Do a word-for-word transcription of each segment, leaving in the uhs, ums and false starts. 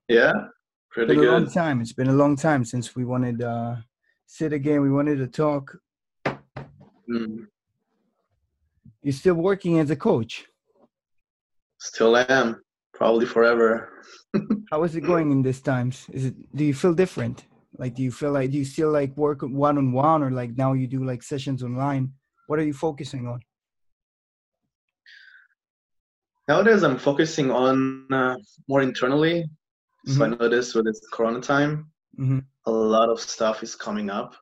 Yeah, pretty Been a long good. time. It's been a long time since we wanted uh sit again. We wanted to talk. Mm, You're still working as a coach. still am, probably forever. How is it going in these times? Is it do you feel different? Like do you feel like do you still like work one on one or like now you do like sessions online? What are you focusing on? Nowadays, I'm focusing on uh, more internally. So I Mm-hmm. noticed with this Corona time, Mm-hmm. a lot of stuff is coming up.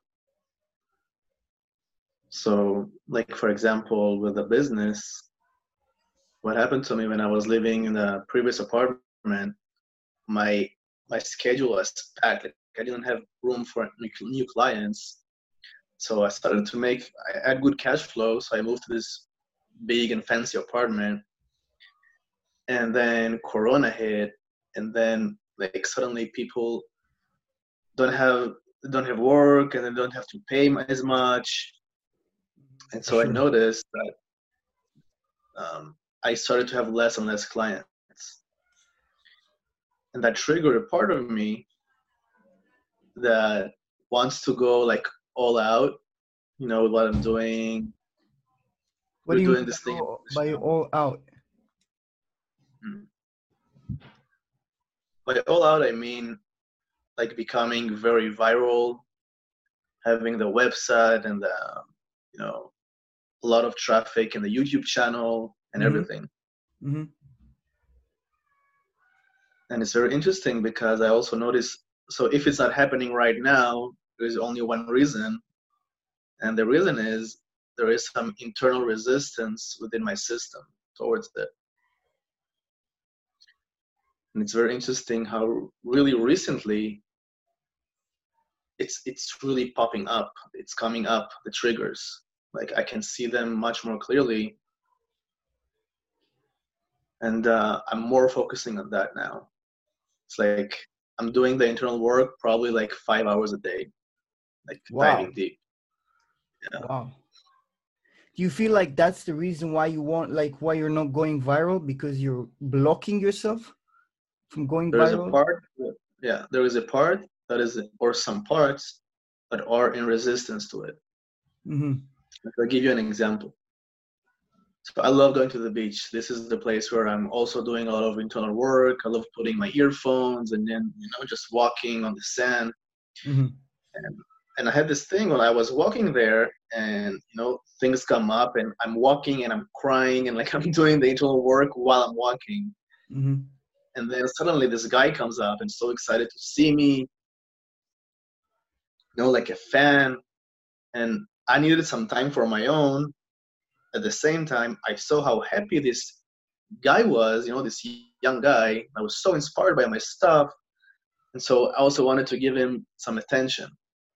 So, like for example, with the business, what happened to me when I was living in the previous apartment, my my schedule was packed. Like I didn't have room for new new clients. So I started to make, I had good cash flow. So I moved to this big and fancy apartment. And then Corona hit. And then like suddenly people don't have, don't have work and they don't have to pay as much. And For so I sure. noticed that um, I started to have less and less clients. And that triggered a part of me that wants to go like all out, you know, with what I'm doing. What We're do you doing mean by this thing on all, the by channel. all out? Mm. By all out, I mean like becoming very viral, having the website and the, you know, a lot of traffic in the YouTube channel and Mm-hmm. everything. Mm-hmm. And it's very interesting because I also notice, so if it's not happening right now, there's only one reason. And the reason is there is some internal resistance within my system towards it. And it's very interesting how really recently it's it's really popping up. It's coming up, the triggers. Like I can see them much more clearly. And uh, I'm more focusing on that now. It's like I'm doing the internal work probably like five hours a day, like Wow. diving deep. Yeah. Wow. Do you feel like that's the reason why you want like why you're not going viral because you're blocking yourself from going There is a viral? part, yeah, there is a part that is, or some parts that are in resistance to it. Mm-hmm. Like, I'll give you an example. So I love going to the beach. This is the place where I'm also doing a lot of internal work. I love putting my earphones and then, you know, just walking on the sand. Mm-hmm. And, and I had this thing when I was walking there and, you know, things come up and I'm walking and I'm crying and like I'm doing the internal work while I'm walking. Mm-hmm. And then suddenly this guy comes up and so excited to see me, you know, like a fan. And I needed some time for my own. At the same time, I saw how happy this guy was, you know, this young guy. I was so inspired by my stuff. And so I also wanted to give him some attention.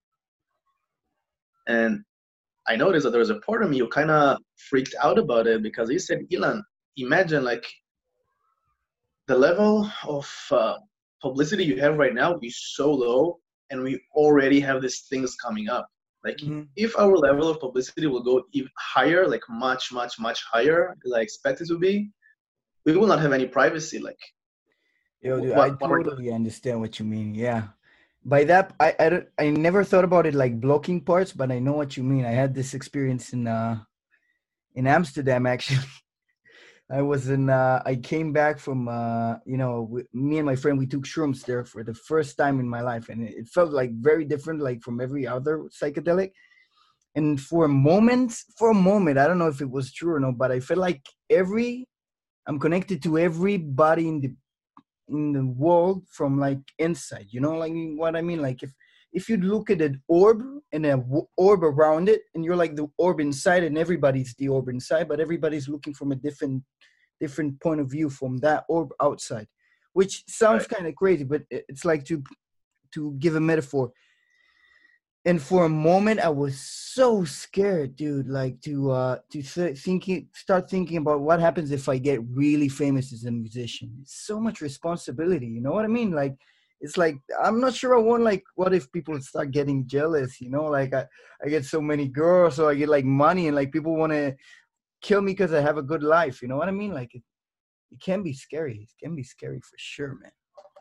And I noticed that there was a part of me who kind of freaked out about it because he said, Ilan, imagine like the level of uh, publicity you have right now is so low, and we already have these things coming up. Like, Mm-hmm. if our level of publicity will go even higher, like much, much, much higher, as I expect it to be, we will not have any privacy. Like, Yo, dude, I what, what are we going totally understand what you mean. Yeah. By that, I, I, don't- I never thought about it like blocking parts, but I know what you mean. I had this experience in uh in Amsterdam actually. I was in. Uh, I came back from. Uh, you know, with, me and my friend we took shrooms there for the first time in my life, and it, it felt like very different, like from every other psychedelic. And for a moment, for a moment, I don't know if it was true or not, but I felt like every I'm connected to everybody in the in the world from like inside. You know, like what I mean. Like if if you look at an orb and a w- orb around it, and you're like the orb inside, and everybody's the orb inside, but everybody's looking from a different different point of view from that orb outside, which sounds right? kind of crazy, but it's like to to give a metaphor. And for a moment, I was so scared, dude. Like to uh to th- thinking, start thinking about what happens if I get really famous as a musician. It's so much responsibility. You know what I mean? Like it's like I'm not sure I want like what if people start getting jealous? You know, like I I get so many girls, so I get like money, and like people want to kill me because I have a good life. You know what I mean? Like it, it can be scary. It can be scary for sure, man.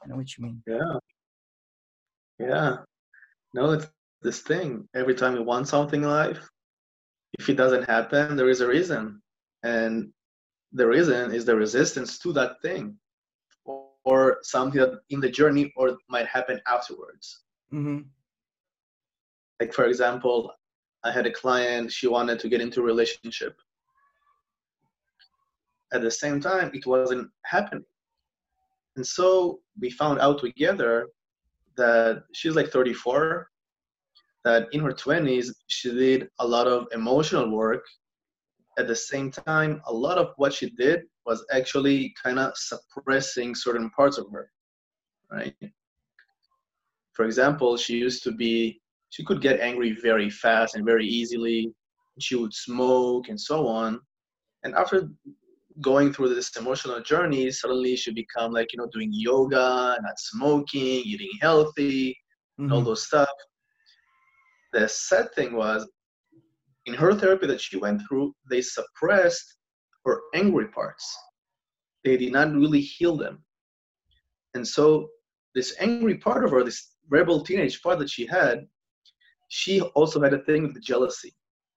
I know what you mean. Yeah. Yeah. No, it's this thing. Every time you want something in life, if it doesn't happen, there is a reason. And the reason is the resistance to that thing, or, or something that in the journey or might happen afterwards. Mm-hmm. Like, for example, I had a client, she wanted to get into a relationship. At the same time, it wasn't happening. And so we found out together that she's like thirty-four, that in her twenties, she did a lot of emotional work. At the same time, a lot of what she did was actually kind of suppressing certain parts of her, right? For example, she used to be, she could get angry very fast and very easily. She would smoke and so on. And after going through this emotional journey, suddenly she become like, you know, doing yoga, not smoking, eating healthy, Mm-hmm. and all those stuff. The sad thing was, in her therapy that she went through, they suppressed her angry parts. They did not really heal them. And so this angry part of her, this rebel teenage part that she had, she also had a thing with jealousy.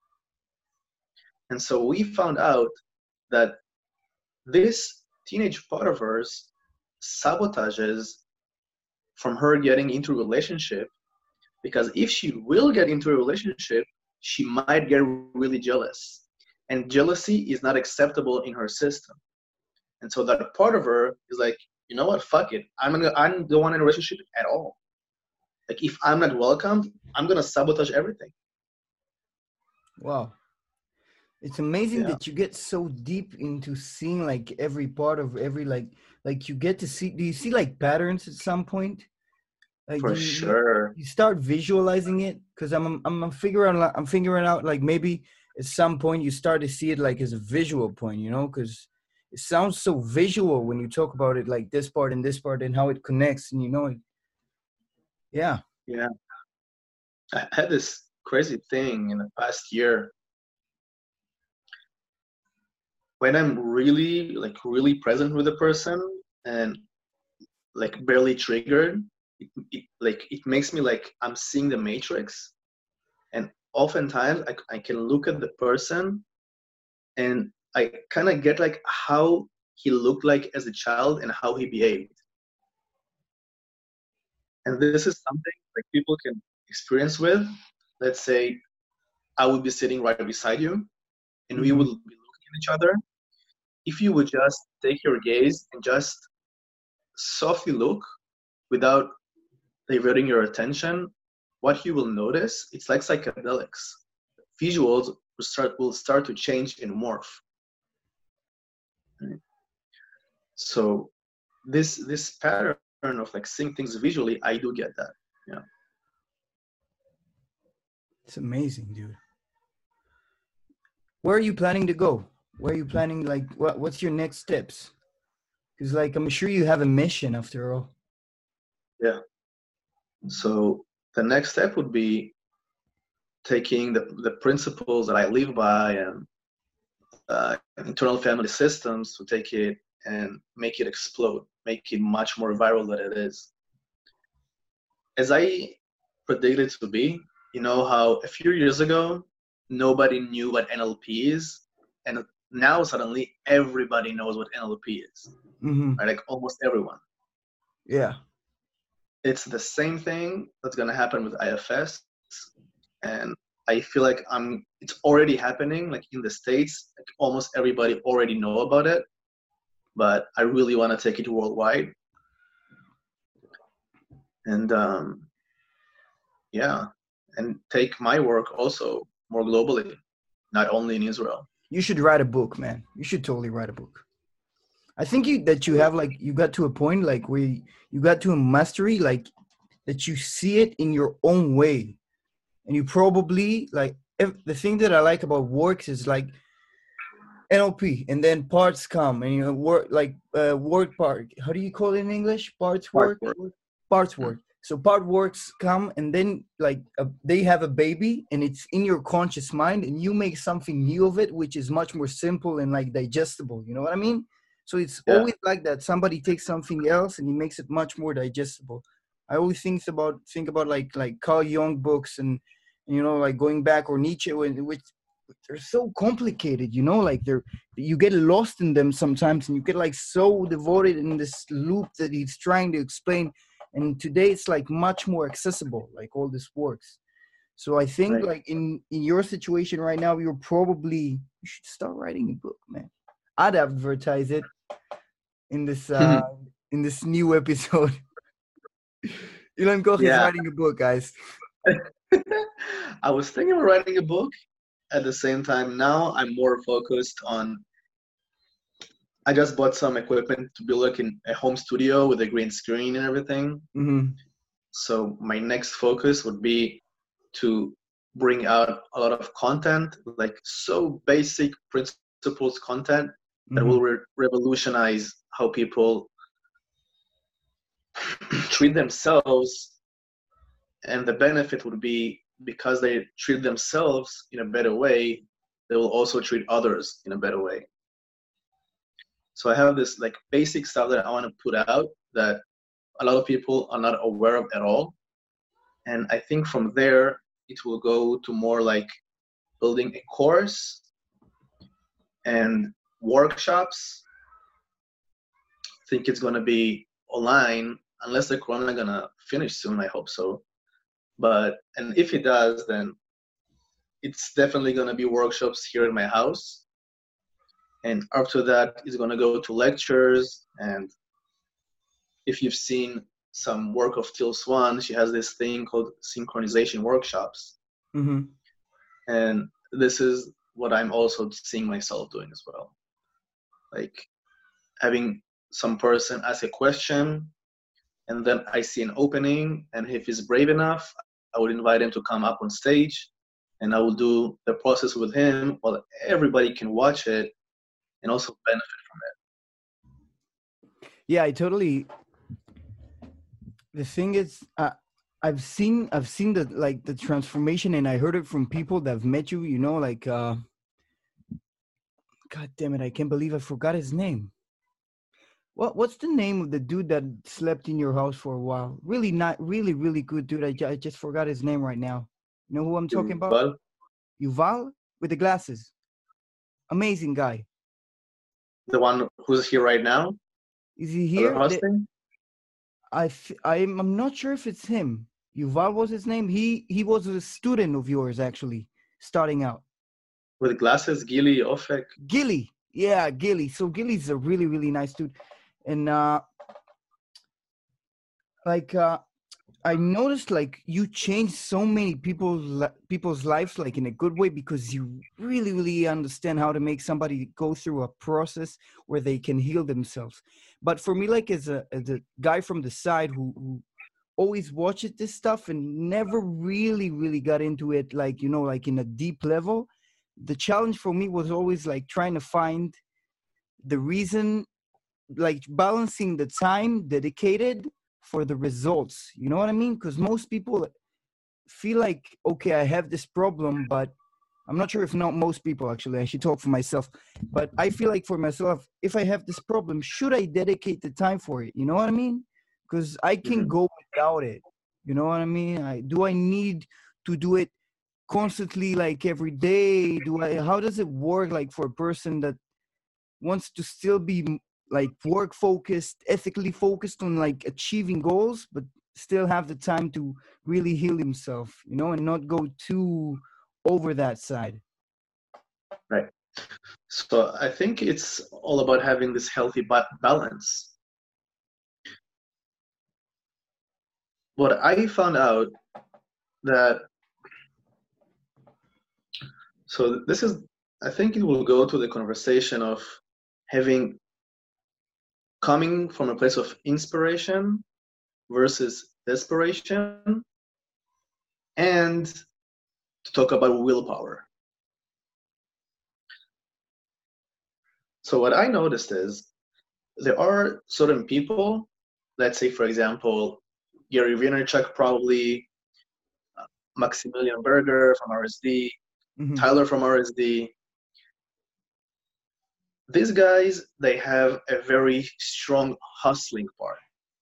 And so we found out that this teenage part of hers sabotages from her getting into a relationship, because if she will get into a relationship, she might get really jealous. And jealousy is not acceptable in her system. And so that part of her is like, you know what, fuck it. I'm gonna, I don't want a relationship at all. Like, if I'm not welcomed, I'm gonna sabotage everything. Wow. It's amazing Yeah. that you get so deep into seeing like every part of every, like, like you get to see, do you see like patterns at some point? Like, For you, sure. You, you start visualizing it, because I'm, I'm I'm figuring out I'm figuring out like maybe at some point you start to see it like as a visual point, you know, because it sounds so visual when you talk about it, like this part and this part and how it connects, and you know it. Yeah. Yeah. I had this crazy thing in the past year. When I'm really, like, really present with a person and like barely triggered, it, it, like it makes me like I'm seeing the Matrix. And oftentimes I, I can look at the person and I kind of get like how he looked like as a child and how he behaved. And this is something like people can experience with. Let's say I would be sitting right beside you and Mm-hmm. we would be looking at each other. If you would just take your gaze and just softly look without diverting your attention, what you will notice, it's like psychedelics. Visuals will start will start to change and morph. Right? So this this pattern of like seeing things visually, I do get that. Yeah. It's amazing, dude. Where are you planning to go? Where are you planning, like, what what's your next steps? Because like I'm sure you have a mission after all. Yeah. So the next step would be taking the, the principles that I live by and uh, internal family systems to take it and make it explode, make it much more viral than it is. As I predicted it to be, you know how a few years ago, nobody knew what N L P is, and now suddenly everybody knows what N L P is, Mm-hmm. right? Like almost everyone. Yeah. It's the same thing that's going to happen with I F S, and I feel like I'm it's already happening, like in the States, like almost everybody already know about it, but I really want to take it worldwide. And um, yeah, and take my work also more globally, not only in Israel. You should write a book, man. You should totally write a book. I think you that you have like you got to a point like where you, you got to a mastery, like that you see it in your own way, and you probably like if, the thing that I like about works is like N L P, and then parts come, and you know work like uh, work part. How do you call it in English? Parts work. Part work. Parts work. So part works come, and then like uh, they have a baby, and it's in your conscious mind, and you make something new of it, which is much more simple and like digestible. You know what I mean? So it's Yeah. always like that. Somebody takes something else and he makes it much more digestible. I always think about think about like like Carl Jung books and, you know, like going back, or Nietzsche, which they're so complicated, you know, like they're you get lost in them sometimes, and you get like so devoted in this loop that he's trying to explain. And today it's like much more accessible, like all this works. So I think Right. like in in your situation right now, you're probably you should start writing a book, man. I'd advertise it in this uh in this new episode. Ilan Koch is Yeah. writing a book, guys. I was thinking of writing a book. At the same time, now I'm more focused on. I just bought some equipment to be like in a home studio with a green screen and everything. Mm-hmm. So my next focus would be to bring out a lot of content, like so basic principles content that Mm-hmm. will re- revolutionize how people treat themselves. And the benefit would be, because they treat themselves in a better way, they will also treat others in a better way. So I have this like basic stuff that I want to put out that a lot of people are not aware of at all. And I think from there, it will go to more like building a course and workshops. I think it's going to be online, unless the corona going to finish soon. I hope so. But, and if it does, then it's definitely going to be workshops here in my house. And after that, it's going to go to lectures. And if you've seen some work of Teal Swan, she has this thing called synchronization workshops. Mm-hmm. And this is what I'm also seeing myself doing as well. Like having some person ask a question, and then I see an opening, and if he's brave enough, I would invite him to come up on stage, and I will do the process with him while everybody can watch it and also benefit from it. Yeah, I totally. The thing is, uh, I've seen I've seen the like the transformation, and I heard it from people that have met you. You know, like, uh, God damn it, I can't believe I forgot his name. What what's the name of the dude that slept in your house for a while? Really not really really good dude. I, I just forgot his name right now. You know who I'm talking about? But Yuval with the glasses. Amazing guy. the one who's here right now, Is he here? hosting? I f- I'm I'm not sure if it's him. Yuval was his name. He he was a student of yours actually, starting out. With glasses, Gili Ofek. Gilly, yeah, Gilly. So Gilly's a really really nice dude, and uh, like uh, I noticed like you changed so many people's people's lives like in a good way, because you really really understand how to make somebody go through a process where they can heal themselves. But for me, like as a as a guy from the side who, who always watched this stuff and never really really got into it, like, you know, like in a deep level, the challenge for me was always like trying to find the reason, like balancing the time dedicated for the results, you know what I mean? Because most people feel like, okay, I have this problem, but I'm not sure if not most people, actually, I should talk for myself, but I feel like for myself, if I have this problem, should I dedicate the time for it? You know what I mean? Because I can Mhm. go without it. You know what I mean? I, do I need to do it constantly, like every day? Do I, how does it work, like for a person that wants to still be like work focused, ethically focused on like achieving goals, but still have the time to really heal himself, you know, and not go too over that side? Right. So I think it's all about having this healthy ba- balance. What I found out that, so this is, I think it will go to the conversation of having, coming from a place of inspiration versus desperation, and to talk about willpower. So what I noticed is there are certain people, let's say, for example, Gary Vaynerchuk, probably, uh, Maximilian Berger from R S D, Mm-hmm. Tyler from R S D. these guys, they have a very strong hustling part,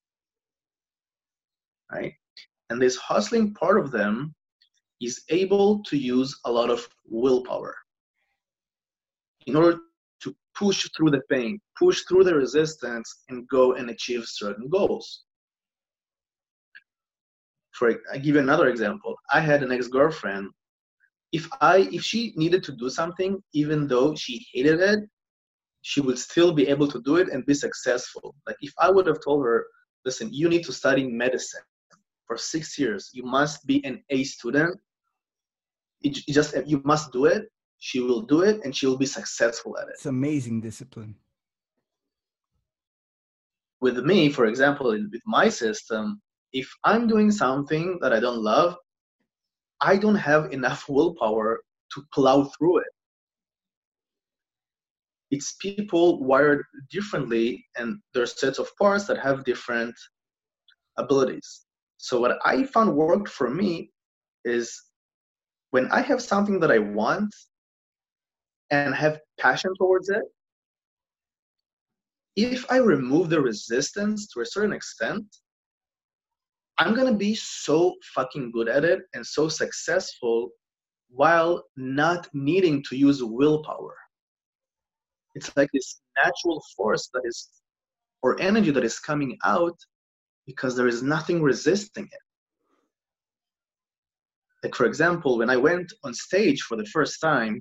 right? And this hustling part of them is able to use a lot of willpower in order to push through the pain, push through the resistance, and go and achieve certain goals. For I give you another example. I had an ex-girlfriend. If I if she needed to do something, even though she hated it, she would still be able to do it and be successful. Like if I would have told her, listen, you need to study medicine for six years. You must be an A student. It just you must do it. She will do it, and she will be successful at it. It's amazing discipline. With me, for example, with my system, if I'm doing something that I don't love, I don't have enough willpower to plow through it. It's people wired differently, and there's sets of parts that have different abilities. So what I found worked for me is when I have something that I want and have passion towards it, if I remove the resistance to a certain extent, I'm going to be so fucking good at it and so successful while not needing to use willpower. It's like this natural force that is, or energy that is coming out because there is nothing resisting it. Like, for example, when I went on stage for the first time,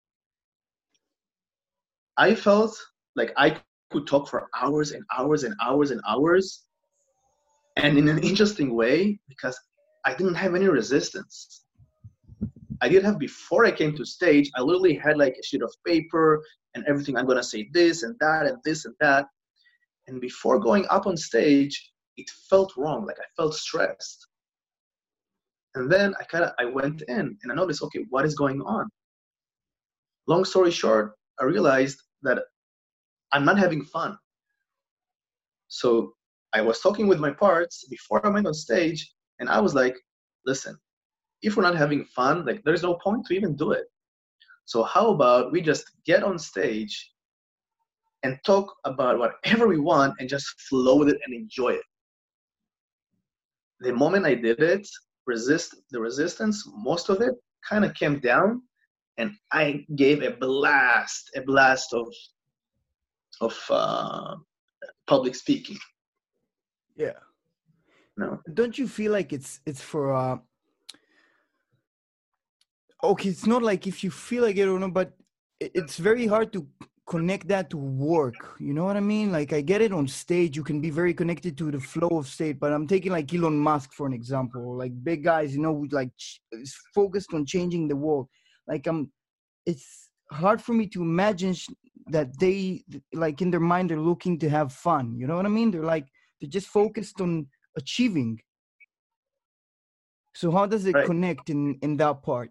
I felt like I could talk for hours and hours and hours and hours. And in an interesting way, because I didn't have any resistance. I did have before I came to stage, I literally had like a sheet of paper and everything. I'm going to say this and that and this and that. And before going up on stage, it felt wrong. Like I felt stressed. And then I kind of, I went in and I noticed, okay, what is going on? Long story short, I realized that I'm not having fun. So I was talking with my parts before I went on stage, and I was like, listen, if we're not having fun, like there's no point to even do it. So how about we just get on stage and talk about whatever we want and just flow with it and enjoy it. The moment I did it, resist the resistance, most of it kind of came down, and I gave a blast, a blast of of uh, public speaking. Yeah. No. Don't you feel like it's it's for uh okay, it's not like if you feel like it or not, but it's very hard to connect that to work. You know what I mean? Like I get it on stage, you can be very connected to the flow of stage, but I'm taking like Elon Musk for an example, like big guys, you know, like is focused on changing the world. Like I'm, it's hard for me to imagine that they, like in their mind, they're looking to have fun. You know what I mean? They're like, they're just focused on achieving. So how does it Right. connect in, in that part?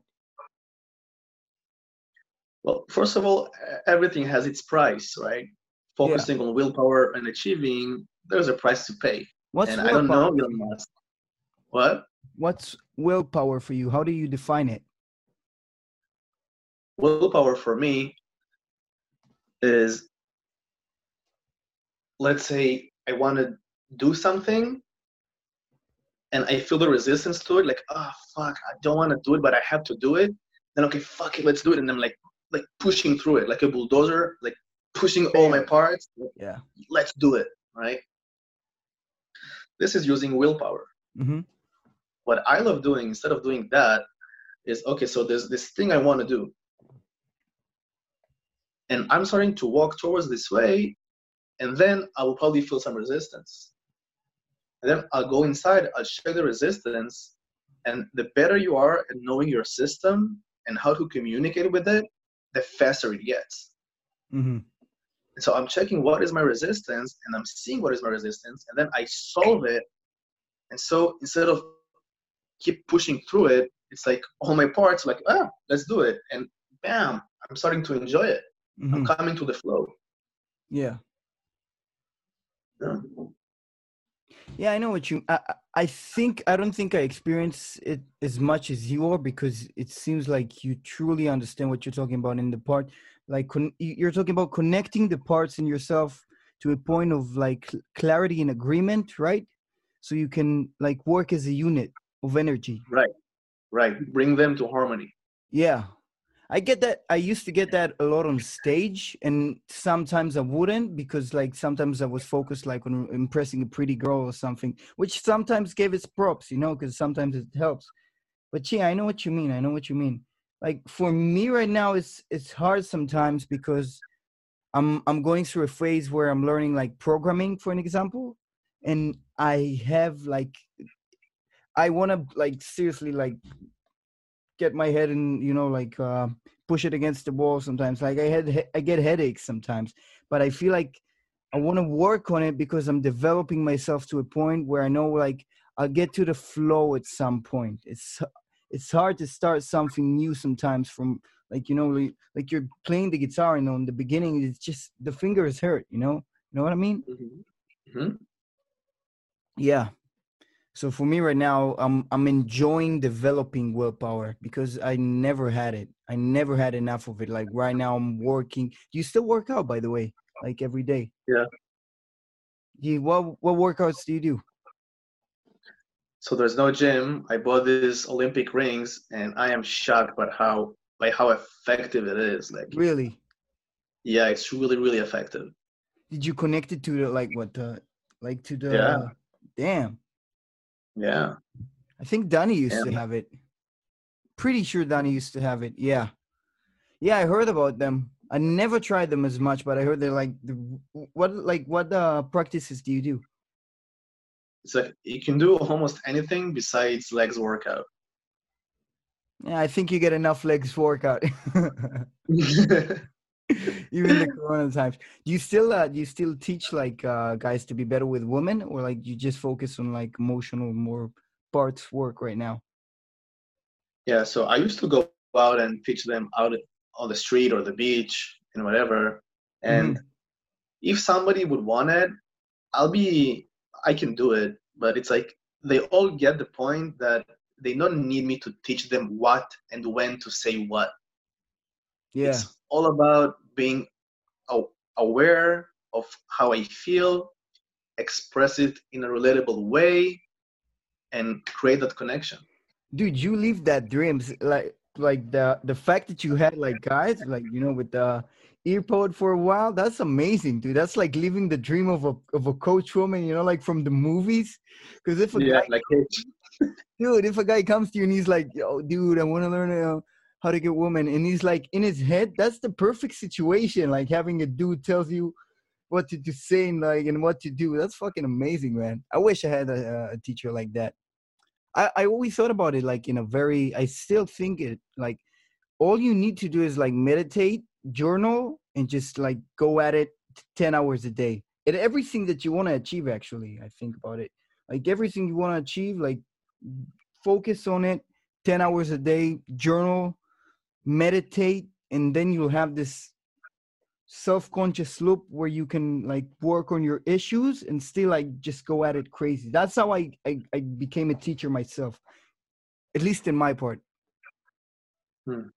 Well, first of all, everything has its price, right? Focusing yeah. on willpower and achieving, there's a price to pay. What's and willpower? I don't know Elon Musk. What? What's willpower for you? How do you define it? Willpower for me is, let's say I want to do something and I feel the resistance to it, like, oh, fuck, I don't want to do it, but I have to do it. Then, okay, fuck it, let's do it. And I'm like, like pushing through it, like a bulldozer, like pushing all my parts. Yeah. Let's do it, right? This is using willpower. Mm-hmm. What I love doing, instead of doing that, is, okay, so there's this thing I want to do. And I'm starting to walk towards this way, and then I will probably feel some resistance. And then I'll go inside, I'll check the resistance, and the better you are at knowing your system and how to communicate with it, the faster it gets. Mm-hmm. And so I'm checking what is my resistance, and I'm seeing what is my resistance, and then I solve it. And so instead of keep pushing through it, it's like all my parts like, ah, let's do it. And bam, I'm starting to enjoy it. Mm-hmm. I'm coming to the flow. Yeah. Yeah. Yeah, I know what you, I, I think, I don't think I experience it as much as you are, because it seems like you truly understand what you're talking about in the part. like con- you- you're talking about connecting the parts in yourself to a point of like cl- clarity and agreement, right? So you can like work as a unit of energy. Right, right. Bring them to harmony. Yeah. I get that. I used to get that a lot on stage, and sometimes I wouldn't because, like, sometimes I was focused like on impressing a pretty girl or something, which sometimes gave its props, you know, because sometimes it helps. But yeah, I know what you mean. I know what you mean. Like for me right now, it's it's hard sometimes because I'm I'm going through a phase where I'm learning like programming, for an example, and I have like I want to like seriously like get my head and you know like uh, push it against the wall sometimes. Like I had I get headaches sometimes, but I feel like I want to work on it because I'm developing myself to a point where I know like I'll get to the flow at some point. It's it's hard to start something new sometimes from like you know like, like you're playing the guitar and on the beginning it's just the fingers hurt. You know, you know what I mean? Mm-hmm. Mm-hmm. Yeah. So for me right now, I'm I'm enjoying developing willpower because I never had it. I never had enough of it. Like right now, I'm working. Do you still work out, by the way? Like every day? Yeah. You what what workouts do you do? So there's no gym. I bought these Olympic rings, and I am shocked by how by how effective it is. Like, Really? yeah, it's really really effective. Did you connect it to the like what the like to Yeah, the damn? yeah, I think Danny used yeah. to have it. Pretty sure Danny used to have it. Yeah, yeah. I heard about them. I never tried them as much, but I heard they're like the, what like what uh practices do you do? It's like you can do almost anything besides legs workout. Yeah, I think you get enough legs workout. Even the corona times. Do you still uh do you still teach like uh guys to be better with women or like you just focus on like emotional more parts work right now? Yeah, so I used to go out and teach them out on the street or the beach and whatever. And Hmm. if somebody would want it, I'll be, I can do it. But it's like they all get the point that they don't need me to teach them what and when to say what. Yeah. It's all about being aware of how I feel, express it in a relatable way, and create that connection. Dude, you leave that dreams like like the the fact that you had like guys like you know with the earpod for a while, that's amazing, dude. That's like living the dream of a of a coach woman, you know, like from the movies. Because if a Yeah, guy like hey, dude, if a guy comes to you and he's like, "Yo, dude, I want to learn uh, how to get women," and he's like in his head, that's the perfect situation. Like having a dude tells you what to, to say and like and what to do. That's fucking amazing, man. I wish I had a, a teacher like that. I I always thought about it like in a very. I still think it like all you need to do is like meditate, journal, and just like go at it ten hours a day. And everything that you want to achieve, actually, I think about it. Like everything you want to achieve, like focus on it ten hours a day, journal, meditate, and then you'll have this self-conscious loop where you can like work on your issues and still like just go at it crazy. That's how I, I, I became a teacher myself, at least in my part. hmm.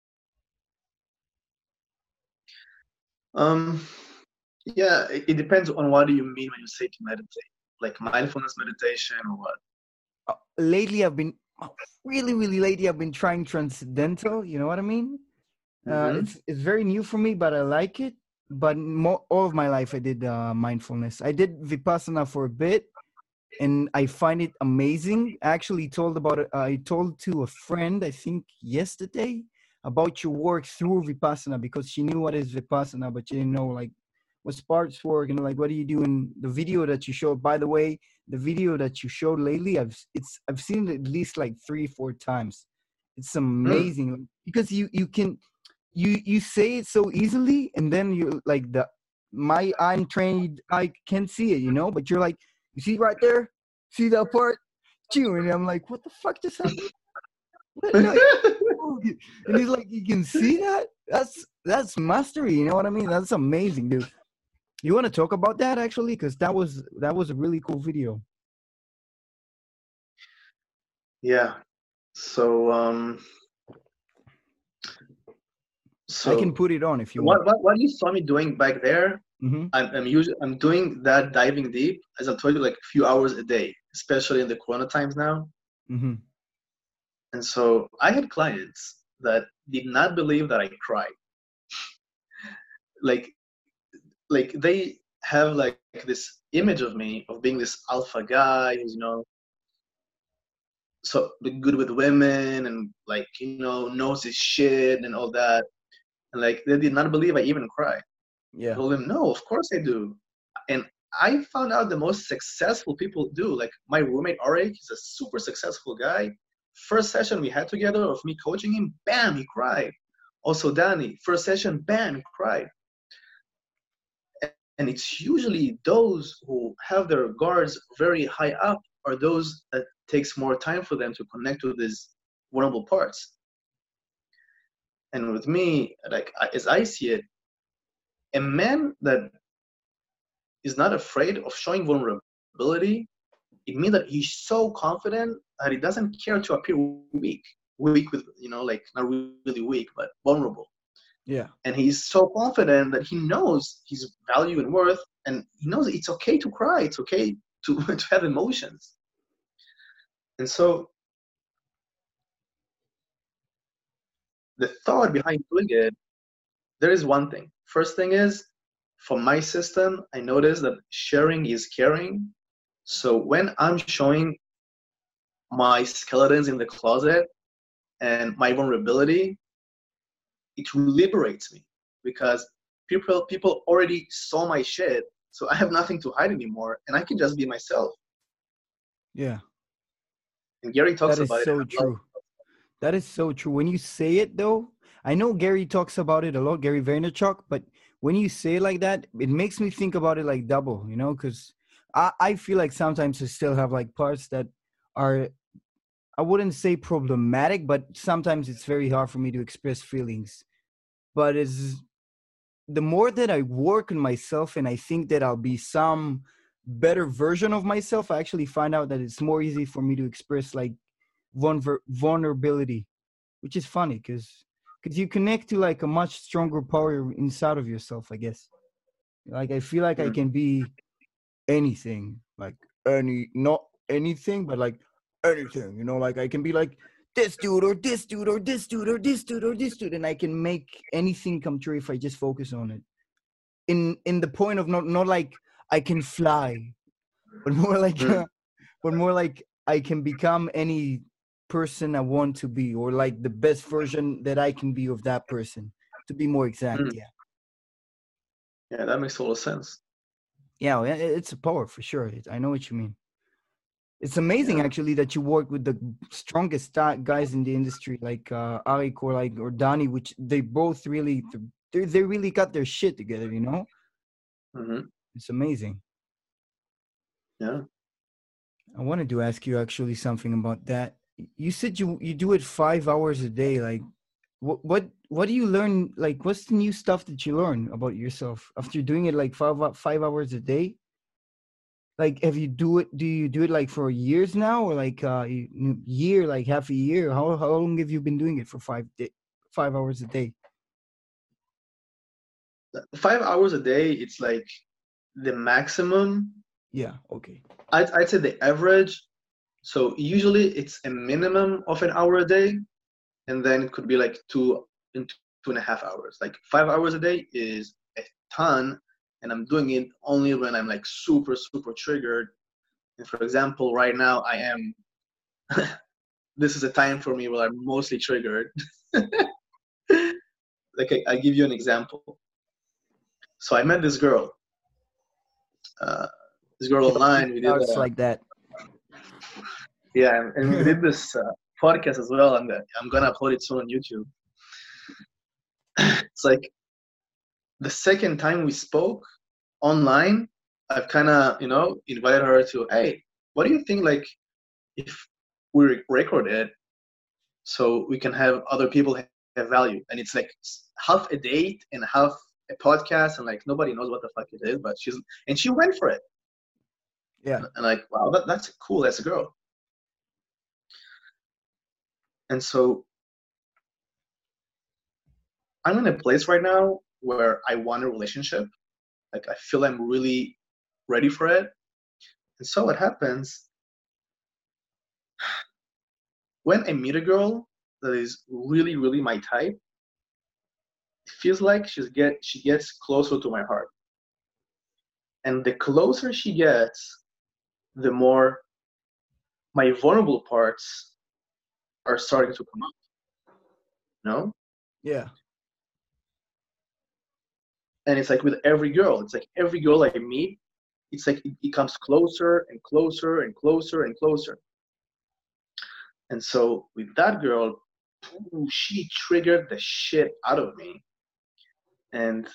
um, yeah, it, it depends on what do you mean when you say to meditate, like mindfulness meditation or what? Uh, lately I've been uh, really really lately I've been trying transcendental, you know what I mean? uh Mm-hmm. it's it's very new for me but I like it. But more, all of my life I did uh mindfulness. I did vipassana for a bit and I find it amazing. I actually told about it I told to a friend I think yesterday about your work through vipassana because she knew what is vipassana but she didn't know like what sparks work and like what do you do in the video that you showed. By the way, the video that you showed lately, i've it's I've seen it at least like three four times. It's Hmm. amazing because you you can you you say it so easily and then you like the my untrained eye can see it, you know, but you're like, you see right there, see that part, Chew, and I'm like, what the fuck just happened? What? No, and he's like, you can see that? That's that's mastery, you know what I mean? That's amazing, dude. You want to talk about that actually? Because that was that was a really cool video. Yeah. So um, So I can put it on if you what want. what, what you saw me doing back there, Mm-hmm. I'm I'm usually I'm doing that diving deep, as I told you, like a few hours a day, especially in the Corona times now. Mm-hmm. And so I had clients that did not believe that I cried. Like like they have like this image of me of being this alpha guy who's, you know, so good with women and like, you know, knows his shit and all that. And like they did not believe I even cry. I Yeah. told them, no, of course I do. And I found out the most successful people do. Like my roommate Arik, he's a super successful guy. First session we had together of me coaching him, bam, he cried. Also Danny, first session, bam, he cried. And it's usually those who have their guards very high up are those that takes more time for them to connect with these vulnerable parts. And with me, like as I see it, a man that is not afraid of showing vulnerability, it means that he's so confident that he doesn't care to appear weak. Weak with, you know, like not really weak, but vulnerable. Yeah. And he's so confident that he knows his value and worth, and he knows it's okay to cry. It's okay to, to have emotions. And so the thought behind doing it, there is one thing. First thing is, for my system, I noticed that sharing is caring. So when I'm showing my skeletons in the closet and my vulnerability, it liberates me because people people already saw my shit, so I have nothing to hide anymore, and I can just be myself. Yeah. And Gary talks That is about it. so true. That is so true. When you say it, though, I know Gary talks about it a lot, Gary Vaynerchuk, but when you say it like that, it makes me think about it like double, you know, because I, I feel like sometimes I still have like parts that are, I wouldn't say problematic, but sometimes it's very hard for me to express feelings. But it's the more that I work on myself and I think that I'll be some better version of myself, I actually find out that it's more easy for me to express like vulner- vulnerability, which is funny because because you connect to like a much stronger power inside of yourself, I guess. Like I feel like I Mm. can be anything, like any, not anything, but like anything, you know, like I can be like this dude or this dude or this dude or this dude or this dude, and I can make anything come true if I just focus on it. In in the point of not not like I can fly, but more like Mm. but more like I can become any person I want to be, or like the best version that I can be of that person, to be more exact. Mm. Yeah. Yeah, that makes total sense. Yeah, well, it- it's a power for sure. It, I know what you mean. It's amazing Yeah. actually that you work with the strongest ta- guys in the industry, like uh, Arik or like or Donnie, which they both really they they really got their shit together. You know, Mm-hmm. it's amazing. Yeah. I wanted to ask you actually something about that. You said you you do it five hours a day. Like, what what what do you learn? Like, what's the new stuff that you learn about yourself after doing it like five five hours a day? Like, have you do it? Do you do it like for years now, or like uh you- year, like half a year? How how long have you been doing it for five day, five hours a day? Five hours a day, it's like the maximum. Yeah. Okay. I'd, I'd say the average. So usually it's a minimum of an hour a day, and then it could be like two in two and a half hours. Like five hours a day is a ton, and I'm doing it only when I'm like super super triggered. And for example, right now I am. This is a time for me where I'm mostly triggered. Like I, I'll give you an example. So I met this girl. Uh, this girl Yo, it online. We did. starts Uh, like that. yeah, and, and we did this uh, podcast as well. I'm gonna I'm gonna upload it soon on YouTube. It's like the second time we spoke online, I've kind of, you know, invited her to, hey, what do you think, like, if we record it so we can have other people have value? And it's like half a date and half a podcast, and like nobody knows what the fuck it is, but she's, and she went for it. Yeah. And, and like, wow, that, that's cool. That's a girl. And so I'm in a place right now where I want a relationship. Like I feel I'm really ready for it. And so what happens when I meet a girl that is really, really my type, it feels like she's get she gets closer to my heart. And the closer she gets, the more my vulnerable parts are starting to come up. No? Yeah. And it's like with every girl, it's like every girl I meet, it's like it, it comes closer and closer and closer and closer. And so with that girl, ooh, she triggered the shit out of me. And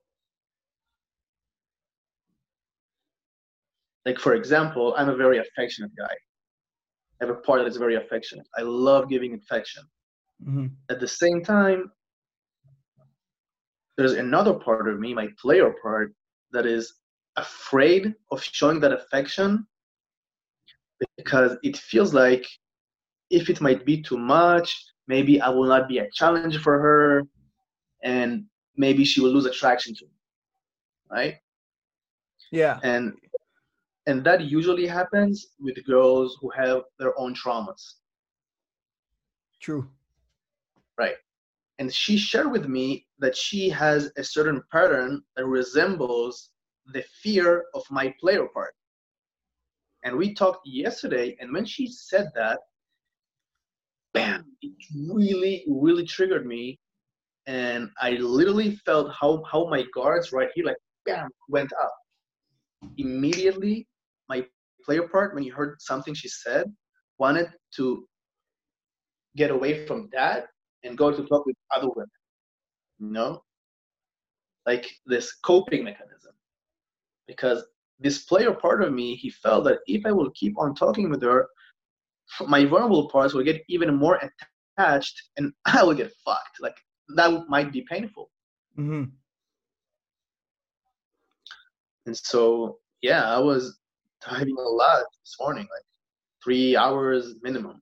like, for example, I'm a very affectionate guy. I have a part that is very affectionate. I love giving affection. Mm-hmm. At the same time, there's another part of me, my player part, that is afraid of showing that affection because it feels like if it might be too much, maybe I will not be a challenge for her and maybe she will lose attraction to me, right? Yeah. And and that usually happens with girls who have their own traumas. True. Right. And she shared with me that she has a certain pattern that resembles the fear of my player part. And we talked yesterday, and when she said that, bam, it really, really triggered me. And I literally felt how, how my guards right here, like, bam, went up. Immediately, my player part, when he heard something she said, wanted to get away from that and go to talk with other women. You know? Like this coping mechanism. Because this player part of me, he felt that if I will keep on talking with her, my vulnerable parts will get even more attached and I will get fucked. Like that might be painful. Mm-hmm. And so, yeah, I was diving a lot this morning, like three hours minimum.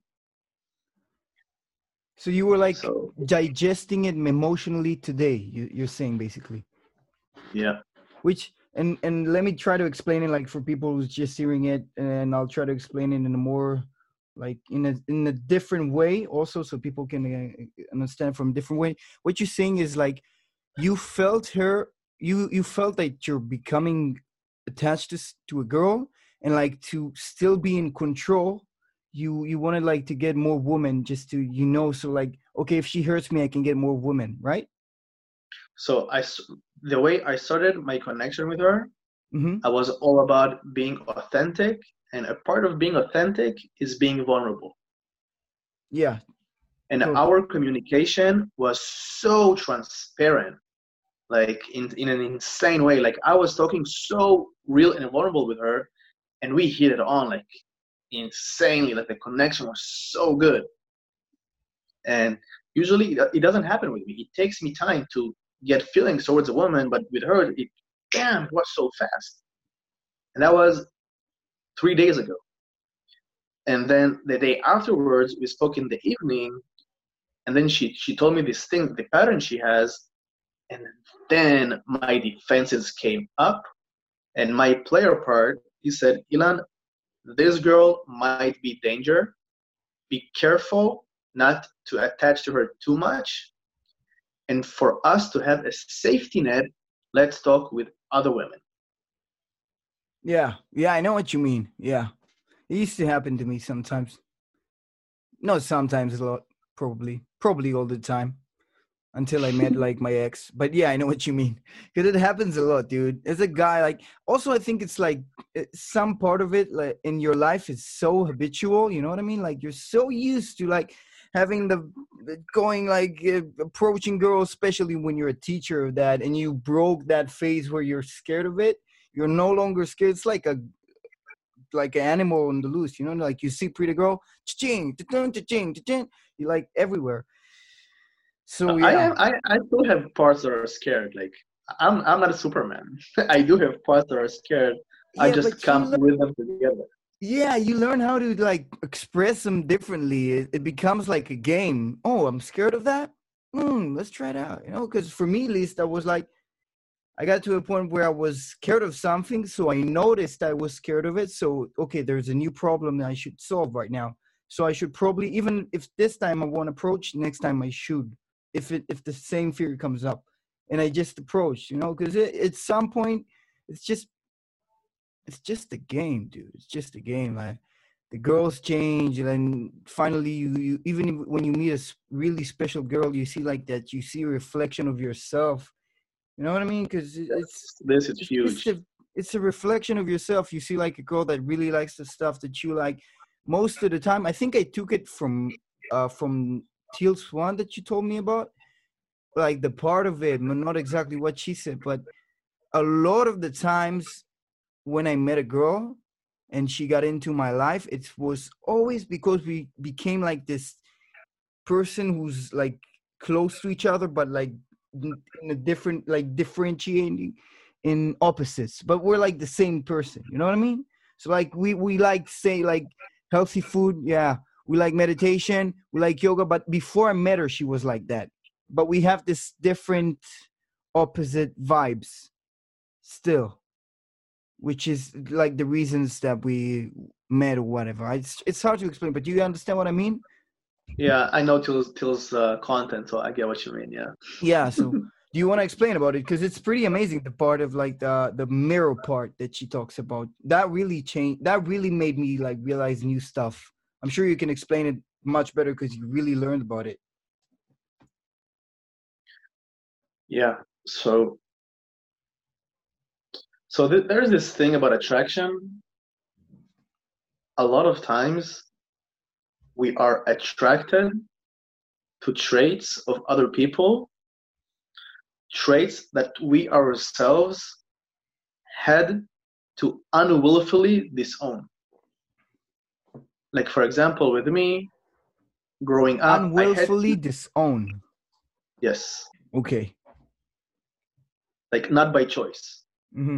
So you were like so, digesting it emotionally today, you, you're saying basically. Yeah. Which, and, and let me try to explain it like for people who's just hearing it, and I'll try to explain it in a more like in a in a different way also so people can uh, understand from a different way. What you're saying is like you felt her, you you felt that you're becoming attached to, to a girl and like to still be in control. You you wanted like to get more women just to, you know, so like, okay, if she hurts me, I can get more women, right? So I, the way I started my connection with her, mm-hmm. I was all about being authentic. And a part of being authentic is being vulnerable. Yeah. And totally. Our communication was so transparent, like in, in an insane way. Like I was talking so real and vulnerable with her and we hit it on like insanely. Like the connection was so good. And usually it doesn't happen with me. It takes me time to get feelings towards a woman, but with her, it, damn, it was so fast. And that was three days ago. And then the day afterwards, we spoke in the evening, and then she, she told me this thing, the pattern she has, and then my defenses came up, and my player part, he said, Ilan, this girl might be danger. Be careful not to attach to her too much. And for us to have a safety net, let's talk with other women. Yeah, yeah, I know what you mean. Yeah. It used to happen to me sometimes. Not sometimes, a lot, probably. Probably all the time. Until I met like my ex. But yeah, I know what you mean. Because it happens a lot, dude. As a guy, like, also I think it's like some part of it like in your life is so habitual, you know what I mean? Like you're so used to like having the, the going like uh, approaching girls, especially when you're a teacher of that and you broke that phase where you're scared of it. You're no longer scared. It's like a like an animal on the loose, you know, like you see pretty girl, cha-ching, cha-ching, cha-ching, cha-ching, you're like everywhere. So yeah, I, am, I I still have parts that are scared. Like I'm I'm not a Superman. I do have parts that are scared. Yeah, I just come learn, with them together. Yeah, you learn how to like express them differently. It, it becomes like a game. Oh, I'm scared of that. mm, let's try it out, you know, because for me, at least, I was like, I got to a point where I was scared of something. So I noticed I was scared of it. So, okay, there's a new problem that I should solve right now. So I should probably, even if this time I won't approach, next time I should, if it, if the same fear comes up. And I just approach, you know, because it, at some point, it's just, it's just a game, dude. It's just a game. I, the girls change, and then finally, you, you even if- when you meet a s- really special girl, you see like that. You see a reflection of yourself. You know what I mean? Because it's This is it's just huge. a, it's a reflection of yourself. You see like a girl that really likes the stuff that you like. Most of the time, I think I took it from uh from Teal Swan that you told me about, like the part of it, but not exactly what she said. But a lot of the times when I met a girl and she got into my life, it was always because we became like this person who's like close to each other, but like in in a different, like differentiating in opposites, but we're like the same person. You know what I mean? So like we we like say like healthy food, yeah. We like meditation, we like yoga. But before I met her, she was like that. But we have this different, opposite vibes still, which is like the reasons that we met or whatever. It's it's hard to explain, but do you understand what I mean? Yeah, I know Till's Till's uh, content, so I get what you mean. Yeah. Yeah. So do you want to explain about it? Because it's pretty amazing, the part of like the the mirror part that she talks about. That really changed. That really made me like realize new stuff. I'm sure you can explain it much better because you really learned about it. Yeah. So so th- there's this thing about attraction. A lot of times we are attracted to traits of other people, traits that we ourselves had to unwillfully disown. Like, for example, with me, growing up, I had Unwillfully to, disown. yes, Okay. like not by choice. Mm-hmm.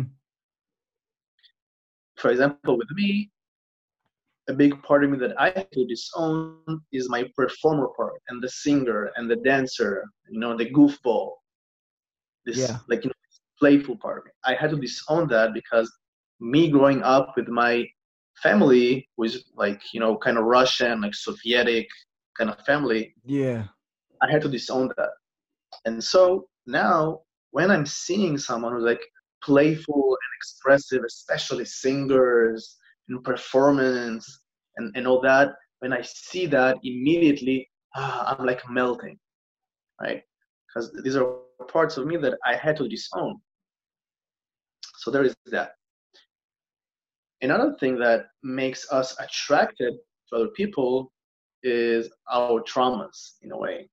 For example, with me, a big part of me that I had to disown is my performer part and the singer and the dancer, you know, the goofball, this Yeah. like you know, playful part of me. I had to disown that because me growing up with my family was like, you know, kind of Russian, like Sovietic kind of family. Yeah. I had to disown that. And so now when I'm seeing someone who's like playful and expressive, especially singers and performance and, and all that, when I see that immediately, ah, I'm like melting, right? Because these are parts of me that I had to disown. So there is that. Another thing that makes us attracted to other people is our traumas in a way.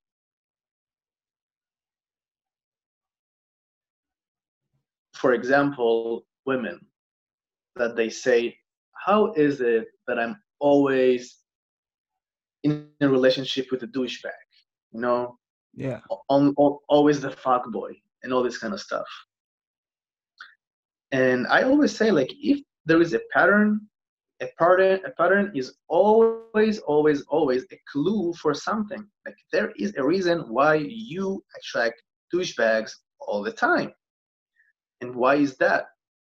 For example, women that they say, how is it that I'm always in a relationship with a douchebag? You know, Yeah. on, on, always the fuck boy and all this kind of stuff. And I always say, like, if there is a pattern, a pattern, a pattern is always, always, always a clue for something. Like there is a reason why you attract douchebags all the time. And why is that?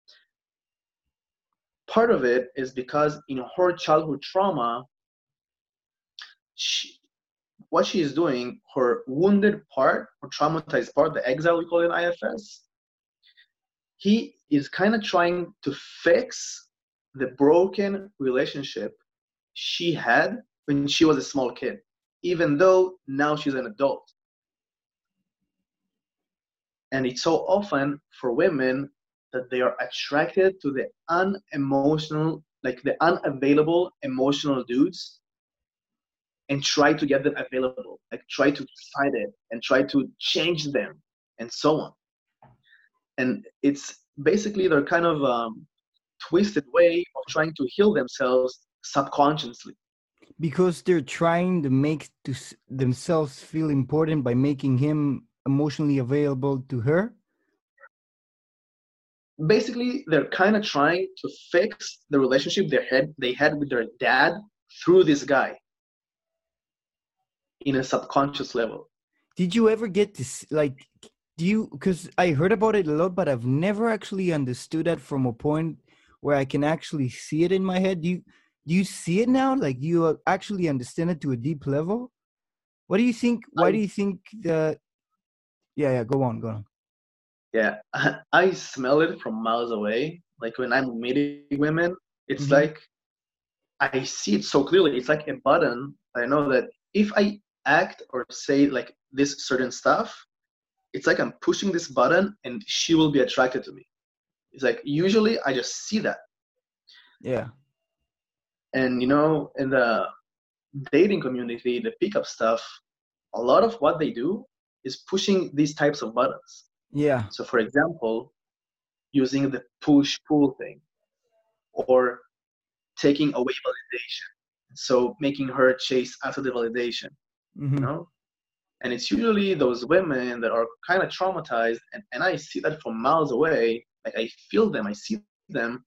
Part of it is because in her childhood trauma, she, what she is doing, her wounded part, her traumatized part, the exile we call it in I F S, he is kind of trying to fix the broken relationship she had when she was a small kid, even though now she's an adult. And it's so often for women that they are attracted to the unemotional, like the unavailable emotional dudes and try to get them available, like try to fight it and try to change them and so on. And it's basically their kind of um, twisted way of trying to heal themselves subconsciously. Because they're trying to make to s- themselves feel important by making him emotionally available to her. Basically, they're kind of trying to fix the relationship they had they had with their dad through this guy in a subconscious level. did you ever get to s- like do you, because I heard about it a lot, but I've never actually understood that from a point where I can actually see it in my head. Do you do you see it now? Like you uh, actually understand it to a deep level? What do you think? Why I do you think the yeah, yeah, go on, go on. yeah, I smell it from miles away. Like when I'm meeting women, it's Mm-hmm. like I see it so clearly. It's like a button. I know that if I act or say like this certain stuff, it's like I'm pushing this button and she will be attracted to me. It's like usually I just see that. Yeah. And you know, in the dating community, the pickup stuff, a lot of what they do is pushing these types of buttons. Yeah. So for example, using the push pull thing or taking away validation. So making her chase after the validation, you Mm-hmm. know? And it's usually those women that are kind of traumatized, and, and I see that from miles away. Like I feel them, I see them.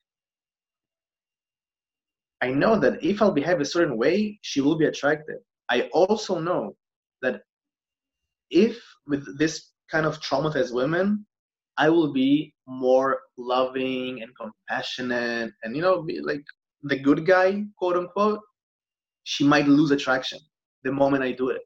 I know that if I'll behave a certain way, she will be attracted. I also know that if with this kind of traumatized women, I will be more loving and compassionate and, you know, be like the good guy, quote unquote, she might lose attraction the moment I do it.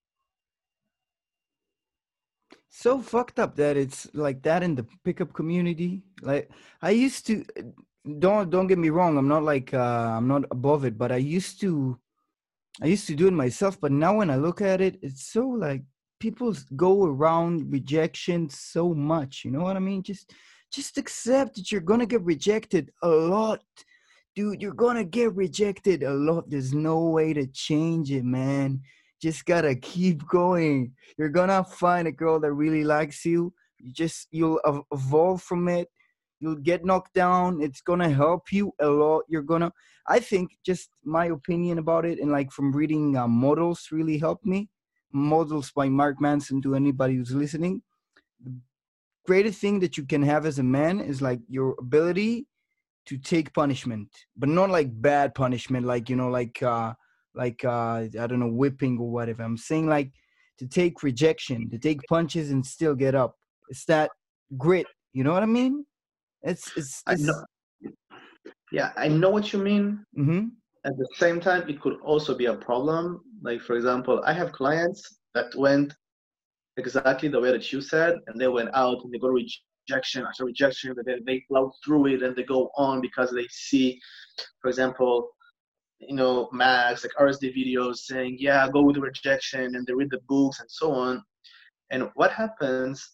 So fucked up that it's like that in the pickup community. Like I used to, don't don't get me wrong, I'm not like uh I'm not above it, but I used to I used to do it myself, but now when I look at it, it's so like people s- go around rejection so much. You know what I mean? Just just accept that you're gonna get rejected a lot. Dude, you're gonna get rejected a lot. There's no way to change it, man. Just gotta keep going. You're gonna find a girl that really likes you. You just you'll ev- evolve from it. You'll get knocked down. It's gonna help you a lot. You're gonna I think just my opinion about it, and like from reading uh, Models really helped me. Models by Mark Manson, to anybody who's listening. The greatest thing that you can have as a man is like your ability to take punishment, but not like bad punishment, like you know, like uh, like uh, I don't know, whipping or whatever. I'm saying like to take rejection, to take punches and still get up. It's that grit. You know what I mean? It's it's I this. know, yeah, I know what you mean. Mm-hmm. At the same time, it could also be a problem. Like, for example, I have clients that went exactly the way that you said, and they went out and they got rejection after rejection, but then they plow through it and they go on because they see, for example, you know, Max, like R S D videos saying, yeah, go with the rejection, and they read the books and so on. And what happens,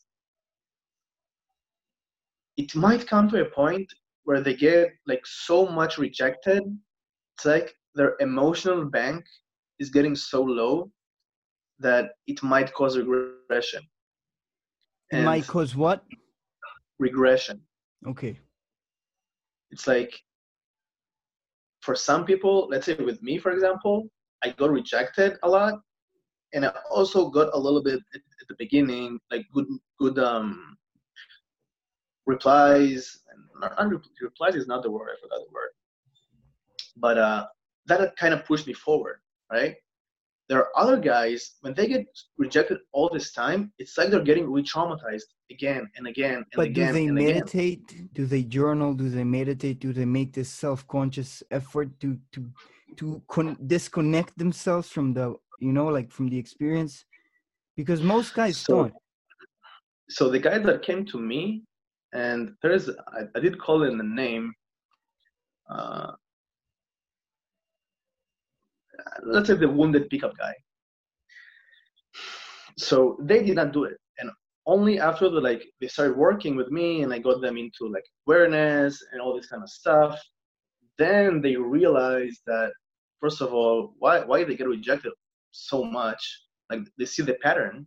it might come to a point where they get like so much rejected. It's like their emotional bank is getting so low that it might cause regression. It And might cause what? regression, Okay. it's like for some people, let's say with me, for example, I got rejected a lot, and I also got a little bit at, at the beginning, like good, good um, replies. And not, not, replies is not the word. I forgot the word, but uh, that kind of pushed me forward, right? There are other guys when they get rejected all this time, it's like they're getting re-traumatized again and again and But do again they and again. meditate? Do they journal? Do they meditate? Do they make this self-conscious effort to to to con- disconnect themselves from the you know like from the experience? Because most guys So, don't. so the guys that came to me, and there's, I, I did call in the name. Uh, let's say the wounded pickup guy. So they did not do it, and only after the like they started working with me, and I got them into like awareness and all this kind of stuff. Then they realized that first of all, why why they get rejected so much? Like they see the pattern,